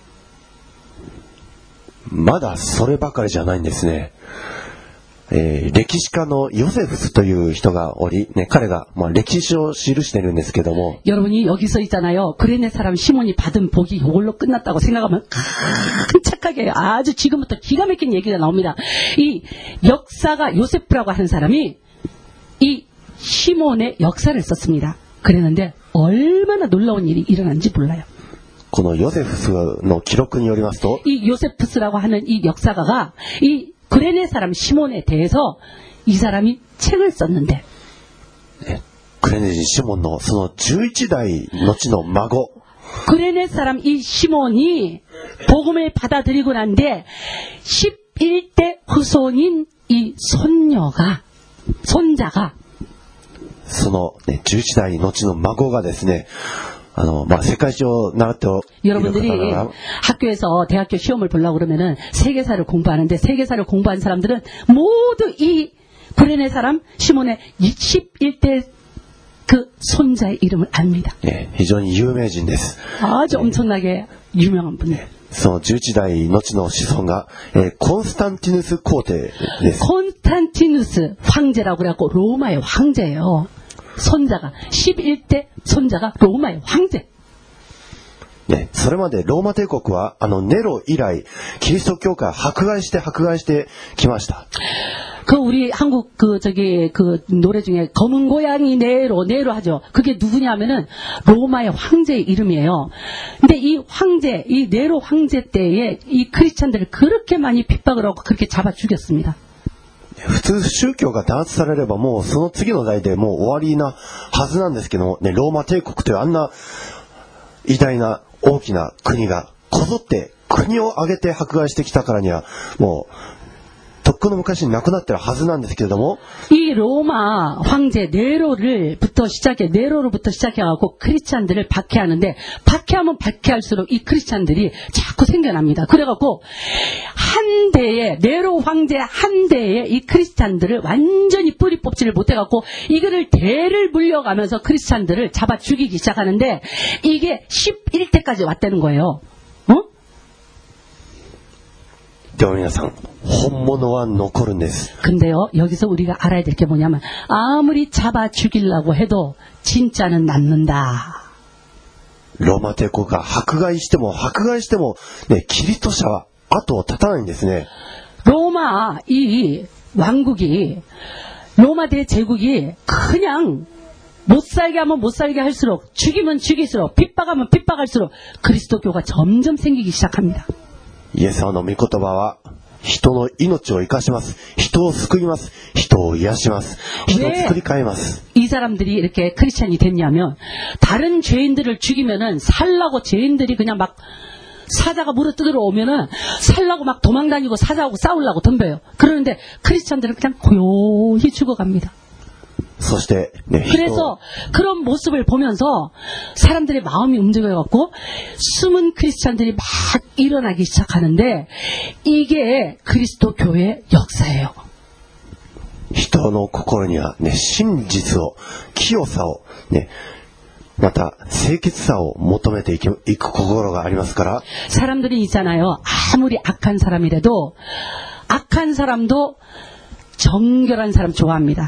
S1: まだそればかりじゃないんですね。えー、歴史家のヨセフスという人がおり、ね、彼が、まあ、歴史を記してるんですけども
S2: 여러분이 여기서 있잖아요. 그레네 사람 시몬이 받은 복이 이걸로 끝났다고 생각하면 깜짝하게 아주 지금부터 기가 막힌 얘기가 나옵니다. 이 역사가 요세프라고 하는 사람이 이 시몬의 역사를 썼습니다. 그랬는데 얼마나 놀라운 일이 일어난지 몰라요.
S1: このヨセフスの記録によりますと
S2: 이 요세프스라고 하는 이 역사가가 이 그레네 사람 시몬에 대해서 이 사람이 책을 썼는데
S1: クレネ人シモンのそのじゅういち代後の孫
S2: 그레네 사람 이 시몬이 복음을 받아들이고 난 뒤에 십일 대 후손인 이 손녀가 손자가
S1: その、ね、じゅういち代後の孫がですね、あの、まあ、世界史を習っている方
S2: 여러분들이
S1: なら
S2: 학교에서 대학교 시험을 보려고 그러면은 세계사를 공부하는데 세계사를 공부한 사람들은 모두 이 구레네 사람 시몬의 십일 대 그 손자의 이름을 압니다.
S1: えー非常に有名人です。
S2: 아주 엄청나게 유명한 분이에요.
S1: そのじゅういち代後の子孫が、えーコンスタンティヌス皇帝です。
S2: 콘스탄티누스 황제라고 그래갖고 로마의 황제예요. 손자가 십일 대 손자가 로마의 황제.
S1: ね、それまでローマ帝国はあのネロ以来キリスト教会を迫害して迫害してきました。
S2: 그 우리 한국 그 저기 그 노래 중에 검은 고양이 네로 네로 하죠. 그게 누구냐면은 로마의 황제의 이름이에요. 근데 이 황제, 이 네로 황제 때에 이 크리스찬들을 그렇게 많이 핍박을 하고 그렇게 잡아 죽였습니다.
S1: 普通宗教が弾圧されればもうその次の代でもう終わりなはずなんですけども、ね、ローマ帝国というあんな偉大な大きな国がこぞって国を挙げて迫害してきたからにはもうとっくの昔に亡くなってるはずなんですけれども、
S2: 이 로마 황제 네로를부터 시작해 네로로부터 시작해갖고 크리스찬들을 박해하는데 박해하면 박해할수록 이 크리스찬들이 자꾸 생겨납니다. 그래갖고 한 대에 네로 황제 한 대에 이 크리스찬들을 완전히 뿌리 뽑지를 못해갖고 이거를 대를 물려가면서 크리스찬들을 잡아 죽이기 시작하는데 이게 십일 대까지 왔다는 거예요. 어?
S1: でも皆さん本物は残るんです。
S2: 근데요, 여기서 우리가 알아야 될 게 뭐냐면 아무리 잡아 죽이려고 해도 진짜는 남는다.
S1: ローマ帝国が迫害しても迫害しても、ね、キリスト者は後を絶たないんですね。
S2: 로마 이 왕국이 로마 대제국이 그냥 못 살게 하면 못 살게 할수록 죽이면 죽일수록 핍박하면 핍박할수록 그리스도교가 점점 생기기 시작합니다.
S1: イエス様の御言葉は人の命を生かします。人を救います。人を癒します。人を作り変えます。
S2: 이 사람들이 이렇게 크리스찬이 됐냐면 다른 죄인들을 죽이면은 살라고 죄인들이 그냥 막 사자가 물어 뜯으러 오면은 살라고 막 도망다니고 사자하고 싸우려고 덤벼요. 그러는데 크리스찬들은 그냥 고요히 죽어갑니다.
S1: そして、ね、
S2: 그래서 그런 모습을 보면서 사람들의 마음이 움직여갖고 숨은 크리스찬들이 막 일어나기 시작하는데 이게 그리스도 교회의 역사예요.
S1: 人の心には、ね、真実を、清さを、ね、また清潔さを求めていく心がありますから
S2: 사람들이 있잖아요. 아무리 악한 사람이라도 악한 사람도 정결한 사람 좋아합니다.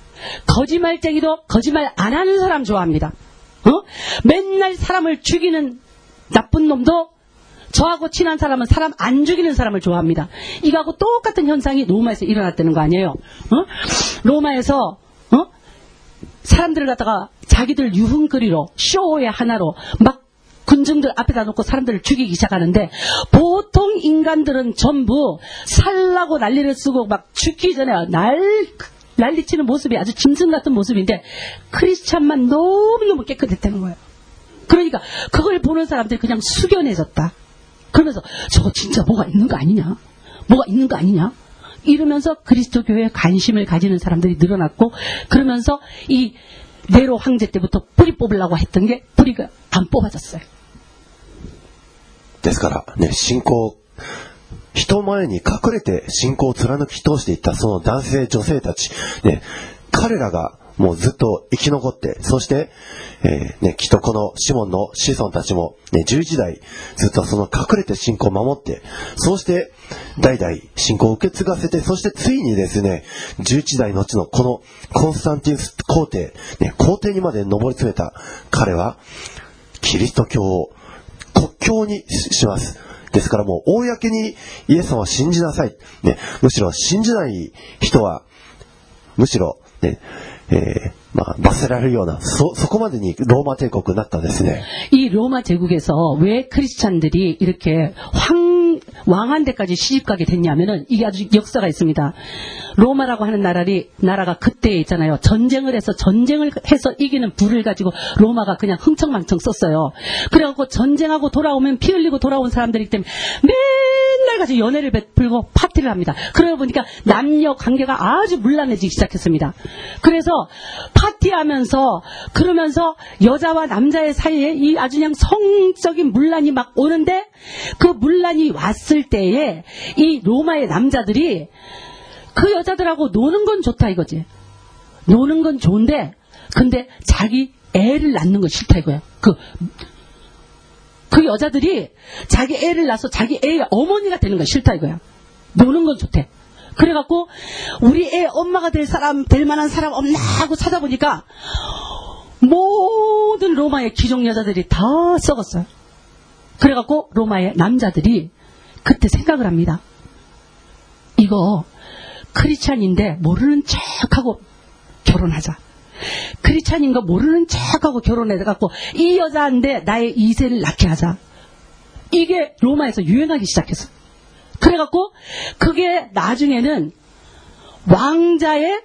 S2: 거짓말쟁이도 거짓말 안 하는 사람 좋아합니다. 어? 맨날 사람을 죽이는 나쁜 놈도 저하고 친한 사람은 사람 안 죽이는 사람을 좋아합니다. 이거하고 똑같은 현상이 로마에서 일어났다는 거 아니에요? 어? 로마에서 어? 사람들을 갖다가 자기들 유흥거리로 쇼의 하나로 막 군중들 앞에다 놓고 사람들을 죽이기 시작하는데 보통 인간들은 전부 살라고 난리를 쓰고 막 죽기 전에 날 난리치는 모습이 아주 짐승 같은 모습인데 크리스찬만 너무너무 깨끗했다는 거예요. 그러니까 그걸 보는 사람들이 그냥 숙연해졌다. 그러면서 저거 진짜 뭐가 있는 거 아니냐? 뭐가 있는 거 아니냐? 이러면서 그리스도 교회에 관심을 가지는 사람들이 늘어났고 그러면서 이 네로 황제 때부터 뿌리 뽑으려고 했던 게 뿌리가 안 뽑아졌어요.
S1: ですからね、信仰人前に隠れて信仰を貫き通していったその男性女性たち、ね、彼らがもうずっと生き残って、そして、えーね、きっとこのシモンの子孫たちも、ね、じゅういち代ずっとその隠れて信仰を守って、そうして代々信仰を受け継がせて、そしてついにですね、じゅういち代のうちのこのコンスタンティヌス皇帝、ね、皇帝にまで上り詰めた彼はキリスト教を国教にします。ですからもう公にイエス様を信じなさい、ね、むしろ信じない人はむしろ、ねえーまあ、罰せられるような そ, そこまでにローマ帝国になったんですね。
S2: 이 로마 제국에서 왜 크리스찬들이 이렇게 황, 왕한테까지 시집가게 됐냐면은 이게 아주 역사가 있습니다. 로마라고 하는 나라리, 나라가 그때 있잖아요. 전쟁을 해서 전쟁을 해서 이기는 부를 가지고 로마가 그냥 흥청망청 썼어요. 그래갖고 전쟁하고 돌아오면 피 흘리고 돌아온 사람들이기 때문에 맨날 가지고 연애를 베풀고 파티를 합니다. 그러다 보니까 남녀 관계가 아주 문란해지기 시작했습니다. 그래서 파티하면서 그러면서 여자와 남자의 사이에 이 아주 그냥 성적인 문란이 막 오는데 그 문란이 왔을 때에 이 로마의 남자들이 그 여자들하고 노는 건 좋다 이거지. 노는 건 좋은데 근데 자기 애를 낳는 건 싫다 이거야. 그, 그 여자들이 자기 애를 낳아서 자기 애의 어머니가 되는 건 싫다 이거야. 노는 건 좋대. 그래갖고 우리 애 엄마가 될 사람, 될 만한 사람 없나 하고 찾아보니까 모든 로마의 귀족 여자들이 다 썩었어요. 그래갖고 로마의 남자들이 그때 생각을 합니다. 이거 크리스찬인데 모르는 척하고 결혼하자. 크리스찬인 거 모르는 척하고 결혼해갖고 이 여자인데 나의 이 세를 낳게 하자. 이게 로마에서 유행하기 시작했어. 그래갖고 그게 나중에는 왕자의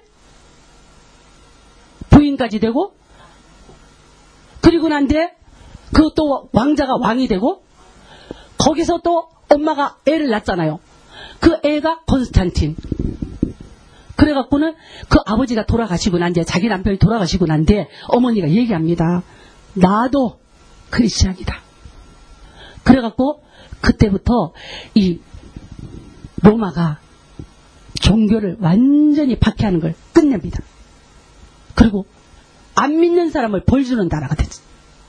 S2: 부인까지 되고 그리고 난데 그것도 왕자가 왕이 되고 거기서 또 엄마가 애를 낳잖아요. 그 애가 콘스탄틴. 그래갖고는 그 아버지가 돌아가시고 난 뒤에 자기 남편이 돌아가시고 난 뒤에 어머니가 얘기합니다. 나도 크리스찬이다. 그래갖고 그때부터 이 로마가 종교를 완전히 박해하는 걸 끝냅니다. 그리고 안 믿는 사람을 벌 주는 나라가 됐죠.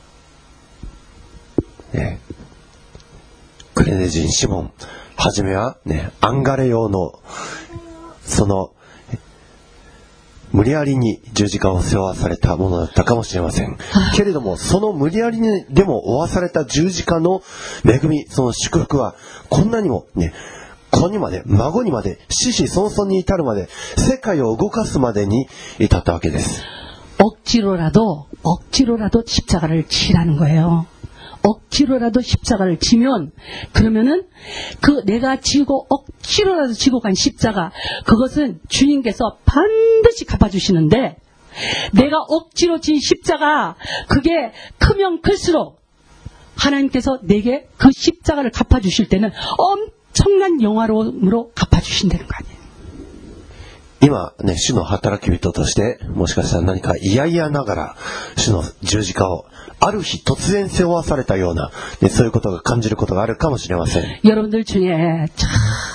S1: ね、クレネ人シモン、はじめは、ね、アンガレ用のその無理やりに十字架を背負わされたものだったかもしれません。けれども、その無理やりにでも負わされた十字架の恵み、その祝福はこんなにもね、子にまで、孫にまで、子々孫々に至るまで、世界を動かすまでに至ったわけです。
S2: 억지로라도 억지로라도 십자가를 치라는 거예요. 억지로라도 십자가를 치면 그러면은 그 내가 지고 억지로라도 지고 간 십자가 그것은 주님께서 반드시 갚아주시는데 내가 억지로 진 십자가 그게 크면 클수록 하나님께서 내게 그 십자가를 갚아주실 때는 엄청난 영화로움으로 갚아주신다는 거 아니에요.
S1: 今ね、主の働き人として、もしかしたら何か嫌々ながら、主の十字架を、ある日突然背負わされたような、ね、そういうことが感じることがあるかもしれません。
S2: 여러분들 중에 참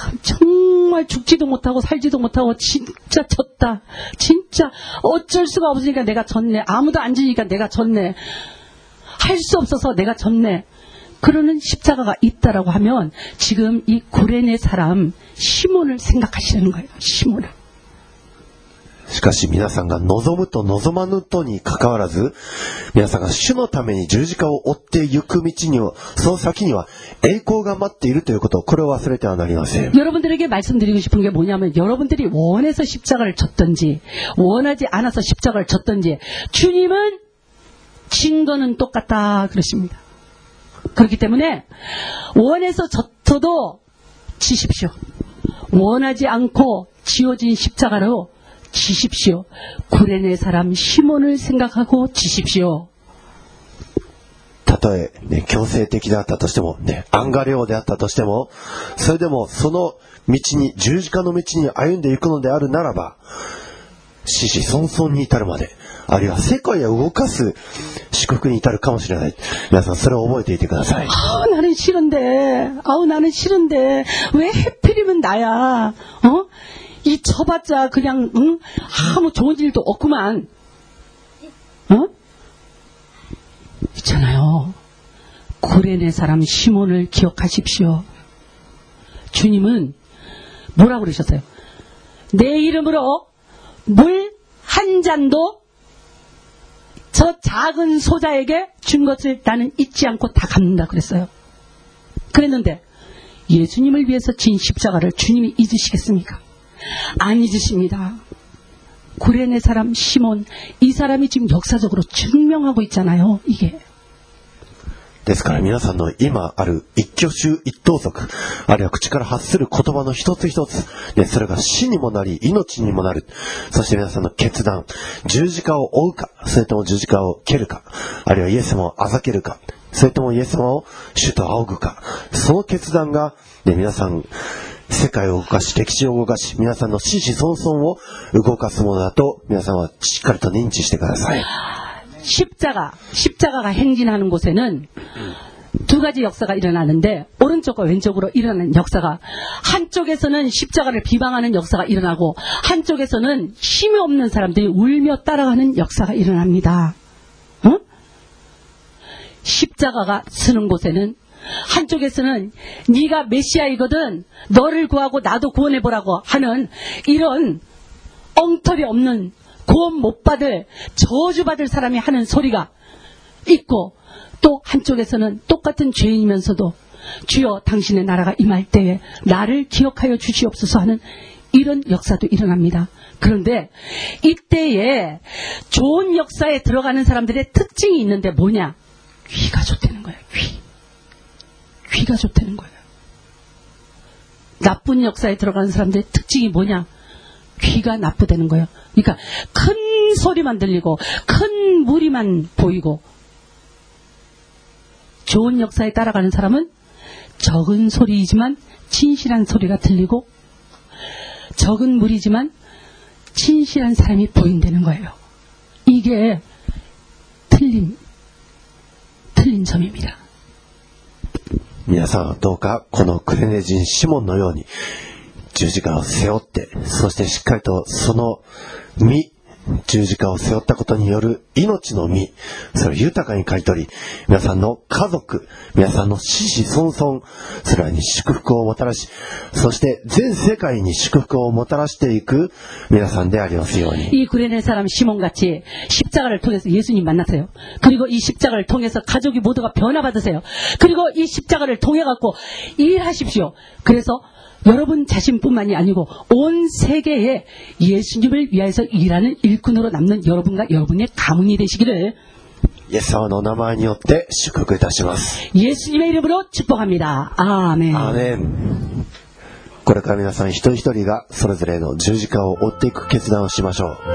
S2: 정말 죽지도 못하고 살지도 못하고 진짜 졌다. 진짜 어쩔 수가 없으니까 내가 졌네. 아무도 안 지니까 내가 졌네. 할 수 없어서 내가 졌네. 그러는 십자가가 있다라고 하면 지금 이 구레네 사람 시몬을 생각하시는 거예요. 시몬을.
S1: しかし皆さんが望むと望まぬとに関わらず、皆さんが主のために十字架を追って行く道には、その先には栄光が待っているということを、これを忘れてはなりません。
S2: 여러분들에게 말씀드리고 싶은 게 뭐냐면 여러분들이 원해서 십자가를 졌든지 원하지 않아서 십자가를 졌든지 주님은 진 거는 똑같다 그러십니다. 그렇기 때문에 원해서 졌어도 지십시오. 원하지 않고 지어진 십자가로 지십시오. 구레네 사람 시몬을 생각하고 지십시오.
S1: たとえ、ね、強制的であったとしても、ね、アンガレオであったとしても、それでもその道に、十字架の道に歩んでいくのであるならば、死死孫々に至るまで、あるいは世界を動かす祝福に至るかもしれない。皆さんそれを覚えていてください。
S2: 아우 나는 싫은데, 아우 나는 싫은데 왜 하필이면 나야? 어? 이 쳐봤자 그냥 응? 아무 좋은 일도 없구만. 어? 있잖아요. 구레네 사람 시몬을 기억하십시오. 주님은 뭐라고 그러셨어요? 내 이름으로 물 한 잔도 저 작은 소자에게 준 것을 나는 잊지 않고 다 갚는다 그랬어요. 그랬는데 예수님을 위해서 진 십자가를 주님이 잊으시겠습니까? 안 잊으십니다. 구레네 사람 시몬, 이 사람이 지금 역사적으로 증명하고 있잖아요. 이게.
S1: ですから皆さんの今ある一挙手一投足、あるいは口から発する言葉の一つ一つ、ね、それが死にもなり命にもなる。そして皆さんの決断、十字架を追うか、それとも十字架を蹴るか、あるいはイエス様をあざけるか、それともイエス様を主と仰ぐか、その決断が、ね、皆さん世界を動かし、歴史を動かし、皆さんの子々孫々を動かすものだと皆さんはしっかりと認知してください。
S2: 십자가, 십자가가 행진하는 곳에는 두 가지 역사가 일어나는데 오른쪽과 왼쪽으로 일어나는 역사가 한쪽에서는 십자가를 비방하는 역사가 일어나고 한쪽에서는 힘이 없는 사람들이 울며 따라가는 역사가 일어납니다. 어? 십자가가 서는 곳에는 한쪽에서는 네가 메시아이거든 너를 구하고 나도 구원해보라고 하는 이런 엉터리 없는 구원 못 받을 저주받을 사람이 하는 소리가 있고 또 한쪽에서는 똑같은 죄인이면서도 주여 당신의 나라가 임할 때에 나를 기억하여 주시옵소서 하는 이런 역사도 일어납니다. 그런데 이때에 좋은 역사에 들어가는 사람들의 특징이 있는데 뭐냐? 귀가 좋다는 거예요. 귀. 귀가 좋다는 거예요. 나쁜 역사에 들어가는 사람들의 특징이 뭐냐? 귀가 나쁘다는 거예요. 그러니까 큰 소리만 들리고 큰 무리만 보이고 좋은 역사에 따라가는 사람은 적은 소리이지만 진실한 소리가 들리고 적은 무리지만 진실한 사람이 보인다는 거예요. 이게 틀린 틀린 점입니다.
S1: 皆さんはどうかこのクレネ人シモンのように十字架を背負って、そしてしっかりとその身、十字架を背負ったことによる命の実、それを豊かに刈り取り、皆さんの家族、皆さんの子々孫々、それらに祝福をもたらし、そして全世界に祝福をもたらしていく皆さんでありますように。
S2: 이 구레네 사람 시몬같이 십자가를 통해서 예수님 만나세요. 그리고 이 십자가를 통해서 가족이 모두가 변화받으세요. 그리고 이 십자가를 통해 갖고 일하십시오. 그래서 여러분 자신뿐만이 아니고 온 세계에 예수님을 위해서 일하는 일꾼으로 남는 여러분과 여러분의 가문이 되시기를
S1: イエス様の名前によって祝福いたします。
S2: 예수님의 이름으로 축복합니다. 아멘.
S1: アーメン。これから皆さん一人一人がそれぞれの十字架を追っていく決断をしましょう。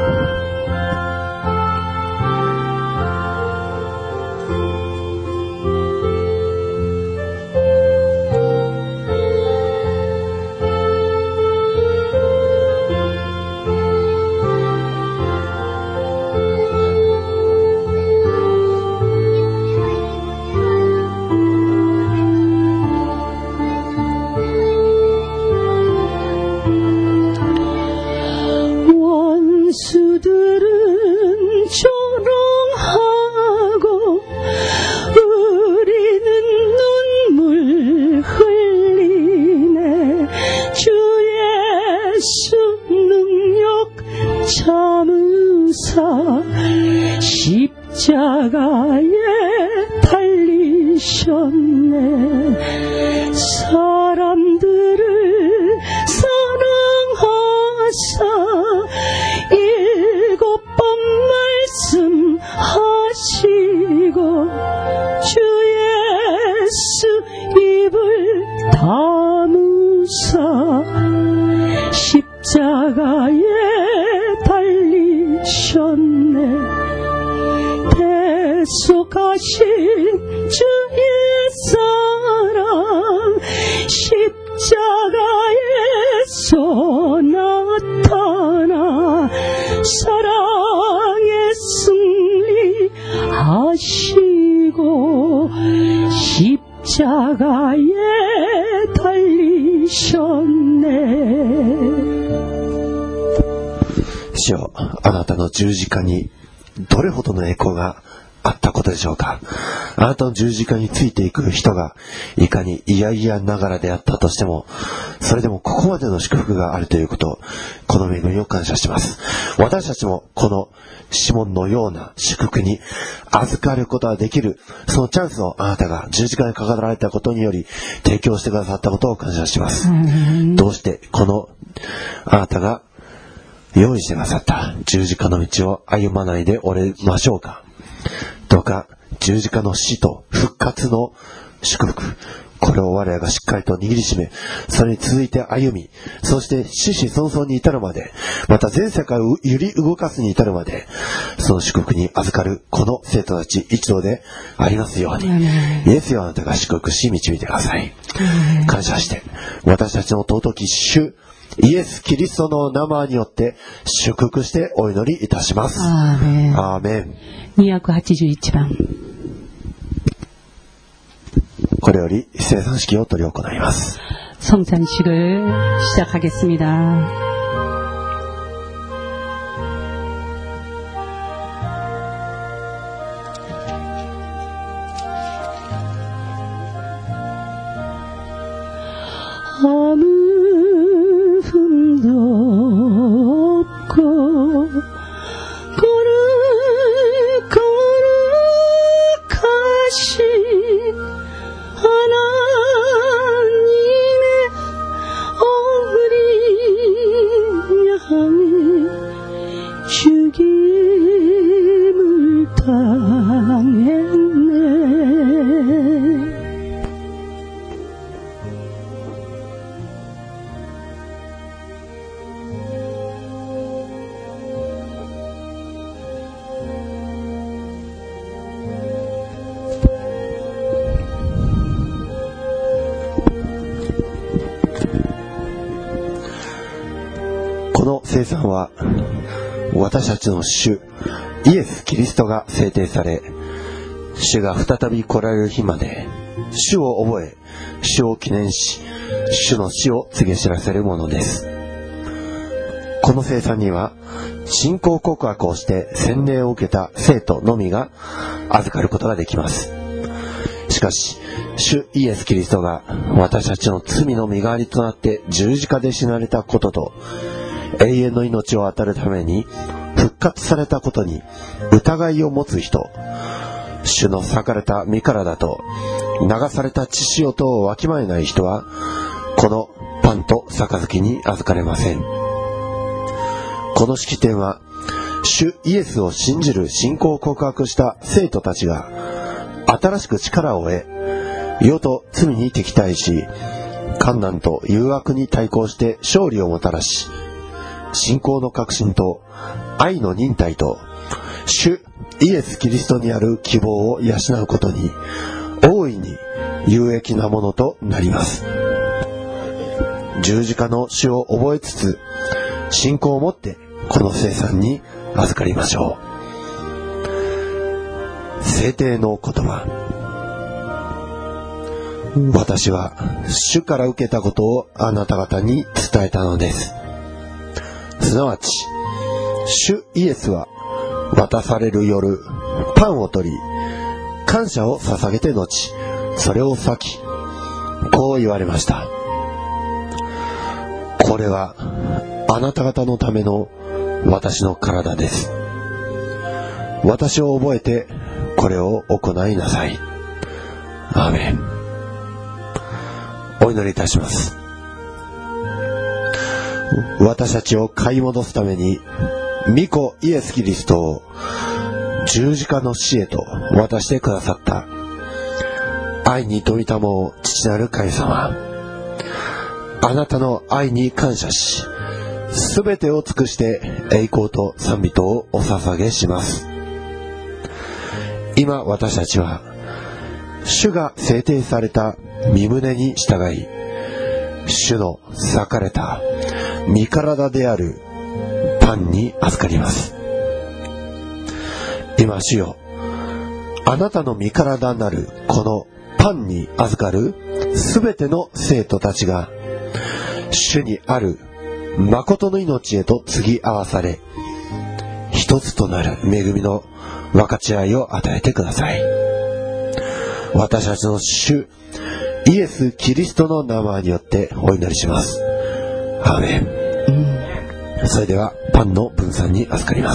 S2: 십자가에 달리셨네. 사람들을 사랑하사 일곱 번 말씀하시고 주 예수 입을 다무사 십자가에 달리셨네. 대속하신 주의 사랑 십자가에서 나타나 사랑의 승리하시고 십자가에 달리셨네.
S1: 主よ、あなたの十字架にどれほどの栄光があったことでしょうか。あなたの十字架についていく人がいかに嫌々ながらであったとしても、それでもここまでの祝福があるということ、この恵みを感謝します。私たちもこのシモンのような祝福に預かることができる、そのチャンスをあなたが十字架にかかられたことにより提供してくださったことを感謝します。どうしてこのあなたが用意してくださった十字架の道を歩まないでおれましょうか。どうか十字架の死と復活の祝福、これを我らがしっかりと握りしめ、それに続いて歩み、そして子々孫々に至るまで、また全世界を揺り動かすに至るまで、その祝福に預かるこの生徒たち一同でありますように、イエスよあなたが祝福し導いてください。感謝して私たちの尊き主イエス・キリストの名前によって祝福してお祈りいたします。アーメン。アーメン。
S2: にひゃくはちじゅういちばん。
S1: これより生産式を執り行います。
S2: 성찬식을 시작하겠습니다. 아무 흠도 없고 거룩거룩하신 하나님의 어린 양의 죽임을 당했네.
S1: この聖餐は私たちの主イエス・キリストが制定され、主が再び来られる日まで主を覚え、主を記念し、主の死を告げ知らせるものです。この聖餐には信仰告白をして洗礼を受けた生徒のみが預かることができます。しかし主イエス・キリストが私たちの罪の身代わりとなって十字架で死なれたことと、永遠の命を与えるために復活されたことに疑いを持つ人、主の裂かれた身体と流された血潮とをわきまえない人は、このパンと杯に預かれません。この式典は主イエスを信じる信仰を告白した生徒たちが新しく力を得、世と罪に敵対し、患難と誘惑に対抗して勝利をもたらし、信仰の確信と愛の忍耐と主イエス・キリストにある希望を養うことに大いに有益なものとなります。十字架の死を覚えつつ、信仰を持ってこの聖餐に預かりましょう。聖帝の言葉。私は主から受けたことをあなた方に伝えたのです。すなわち主イエスは渡される夜パンを取り、感謝を捧げて後それを裂き、こう言われました。これはあなた方のための私の体です。私を覚えてこれを行いなさい。アーメン。お祈りいたします。私たちを買い戻すために御子イエス・キリストを十字架の死へと渡してくださった愛に富みたもう父なる神様、あなたの愛に感謝し、すべてを尽くして栄光と賛美とをお捧げします。今私たちは主が制定された御胸に従い、主の裂かれた身体であるパンに預かります。今主よ、あなたの身体なるこのパンに預かるすべての生徒たちが主にある誠の命へと継ぎ合わされ、一つとなる恵みの分かち合いを与えてください。私たちの主イエス・キリストの名前によってお祈りします。アーメン。それではパンの分散に預かります。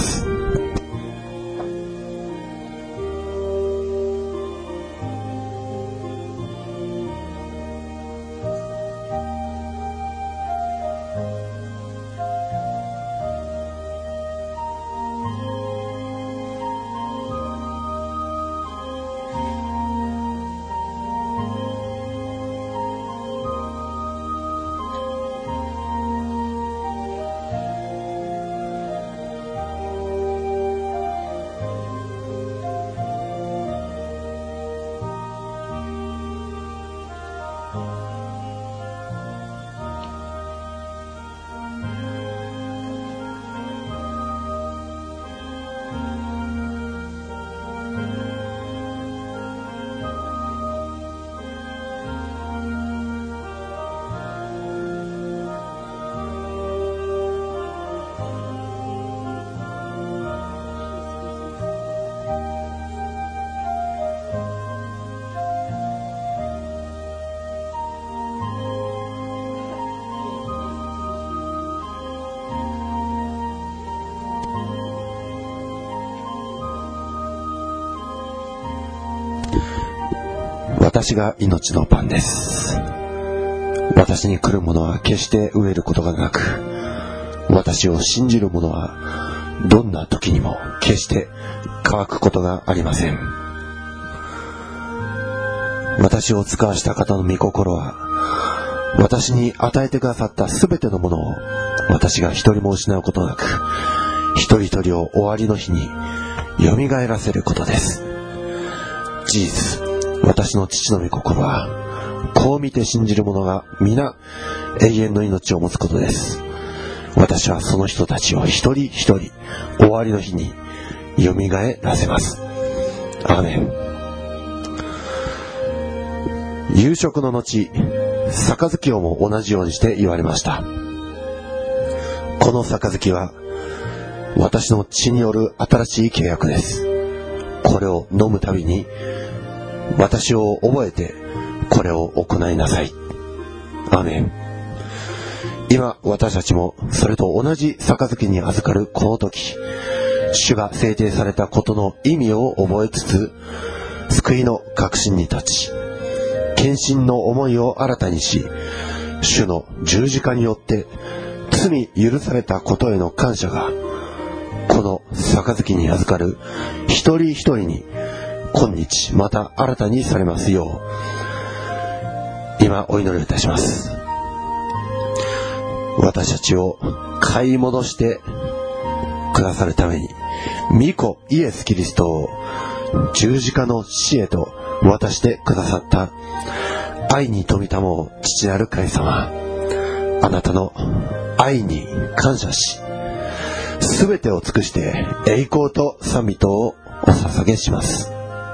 S1: 私が命のパンです。私に来る者は決して飢えることがなく、私を信じる者はどんな時にも決して乾くことがありません。私を使わした方の御心は、私に与えてくださったすべてのものを私が一人も失うことなく、一人一人を終わりの日によみがえらせることです。事実、私の父の御心は、こう見て信じる者が皆永遠の命を持つことです。私はその人たちを一人一人終わりの日によみがえらせます。アーメン。夕食の後、杯をも同じようにして言われました。この杯は私の血による新しい契約です。これを飲むたびに私を覚えてこれを行いなさい。アーメン。今私たちもそれと同じ杯に預かるこの時、主が制定されたことの意味を覚えつつ、救いの確信に立ち、献身の思いを新たにし、主の十字架によって罪許されたことへの感謝が、この杯に預かる一人一人に今日また新たにされますよう、今お祈りいたします。私たちを買い戻してくださるために、御子イエス・キリストを十字架の死へと渡してくださった愛に富みたもう父なる神様、あなたの愛に感謝し、すべてを尽くして栄光と賛美とをお捧げします。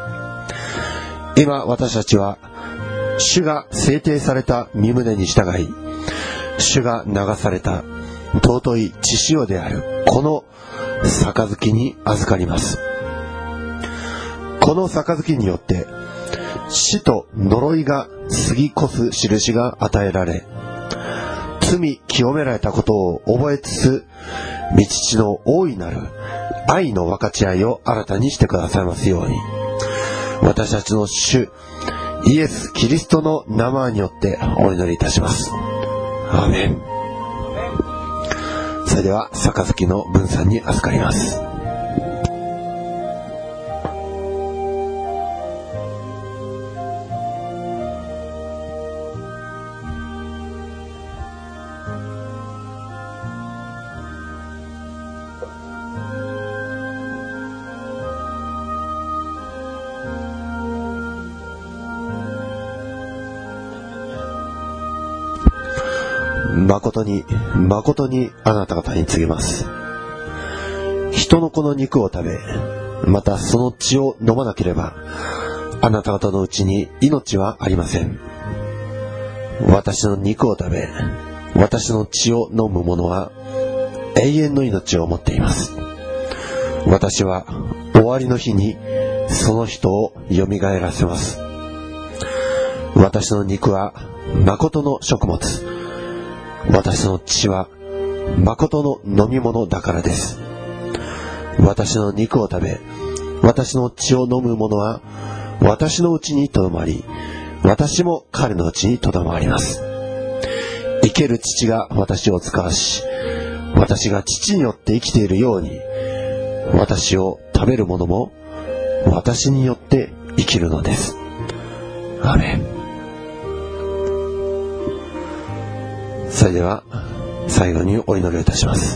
S1: 今私たちは主が制定された御胸に従い、主が流された尊い血潮であるこの杯に預かります。この杯によって死と呪いが過ぎ越す印が与えられ、罪清められたことを覚えつつ、御父の大いなる愛の分かち合いを新たにしてくださいますように、私たちの主イエス・キリストの名前によってお祈りいたします。アーメン。それでは杯の分散に預かります。誠に誠にあなた方に告げます。人の子の肉を食べ、またその血を飲まなければ、あなた方のうちに命はありません。私の肉を食べ、私の血を飲む者は永遠の命を持っています。私は終わりの日にその人をよみがえらせます。私の肉は誠の食物、私の血は誠の飲み物だからです。私の肉を食べ、私の血を飲む者は私のうちにとどまり、私も彼のうちにとどまります。生ける父が私を使わし、私が父によって生きているように、私を食べる者も私によって生きるのです。アーメン。それでは最後にお祈りをいたします。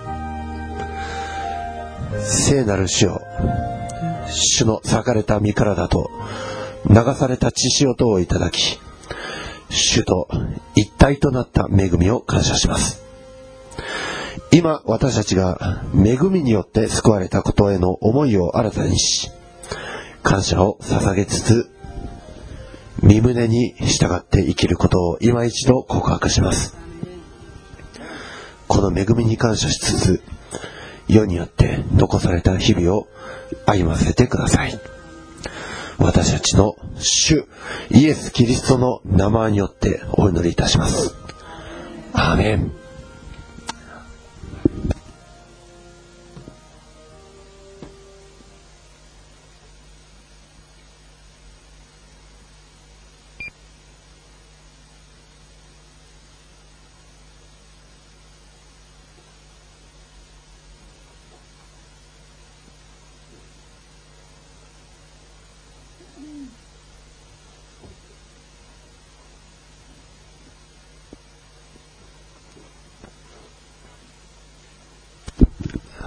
S1: 聖なる主よ、主の裂かれた身体と流された血潮とをいただき、主と一体となった恵みを感謝します。今私たちが恵みによって救われたことへの思いを新たにし、感謝を捧げつつ、身胸に従って生きることを今一度告白します。この恵みに感謝しつつ、世によって残された日々を歩ませてください。私たちの主イエス・キリストの名前によってお祈りいたします。アーメン。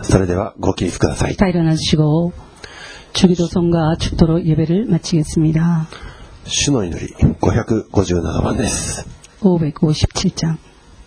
S1: それではご起立ください。
S2: 다 일어나주시고 주기도성과 축도로 예배를 마치겠습니다.
S1: 主の祈りごひゃくごじゅうななばんです。
S2: 오백오십칠 장.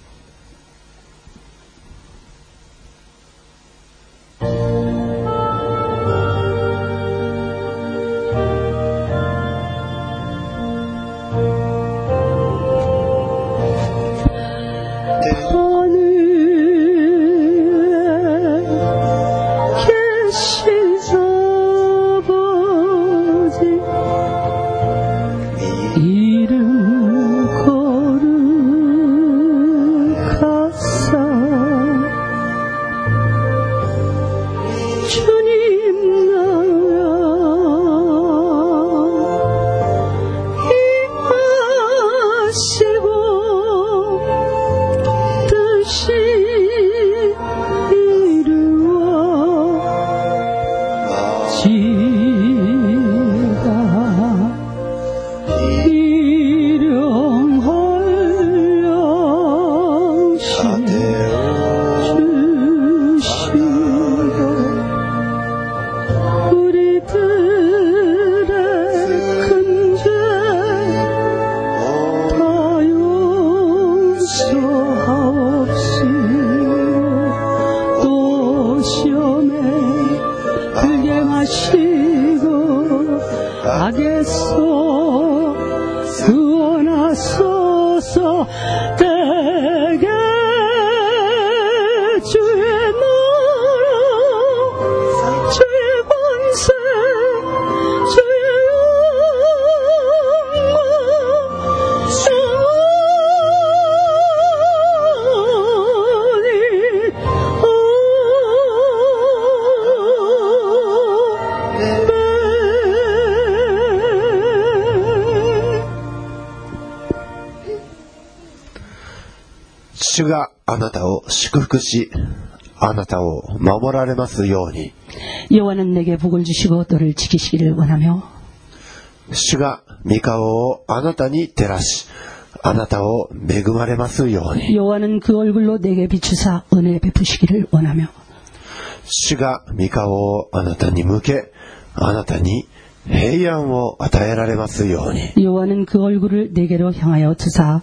S1: 主があなたを祝福し、あなたを守られますように。
S2: 여호와는 내게 복을 주시고 너를 지키시기를 원하며
S1: 主が御顔をあなたに照らし、あなたを恵まれますように。
S2: 여호와는 그 얼굴로 내게 비추사 은혜 베푸시기를 원하며
S1: 主が御顔をあなたに向け、あなたに平安を与えられますように。
S2: 여호와는 그 얼굴을 내게로 향하여 드사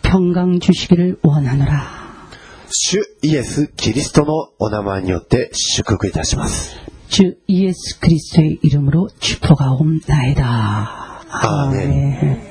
S2: 평강 주시기를 원하노라.
S1: 主イエス・キリストのお名前によって祝福いたします。
S2: 주 예수 그리스도의 이름으로 축복하옵나이다.
S1: 아멘.
S2: 아멘.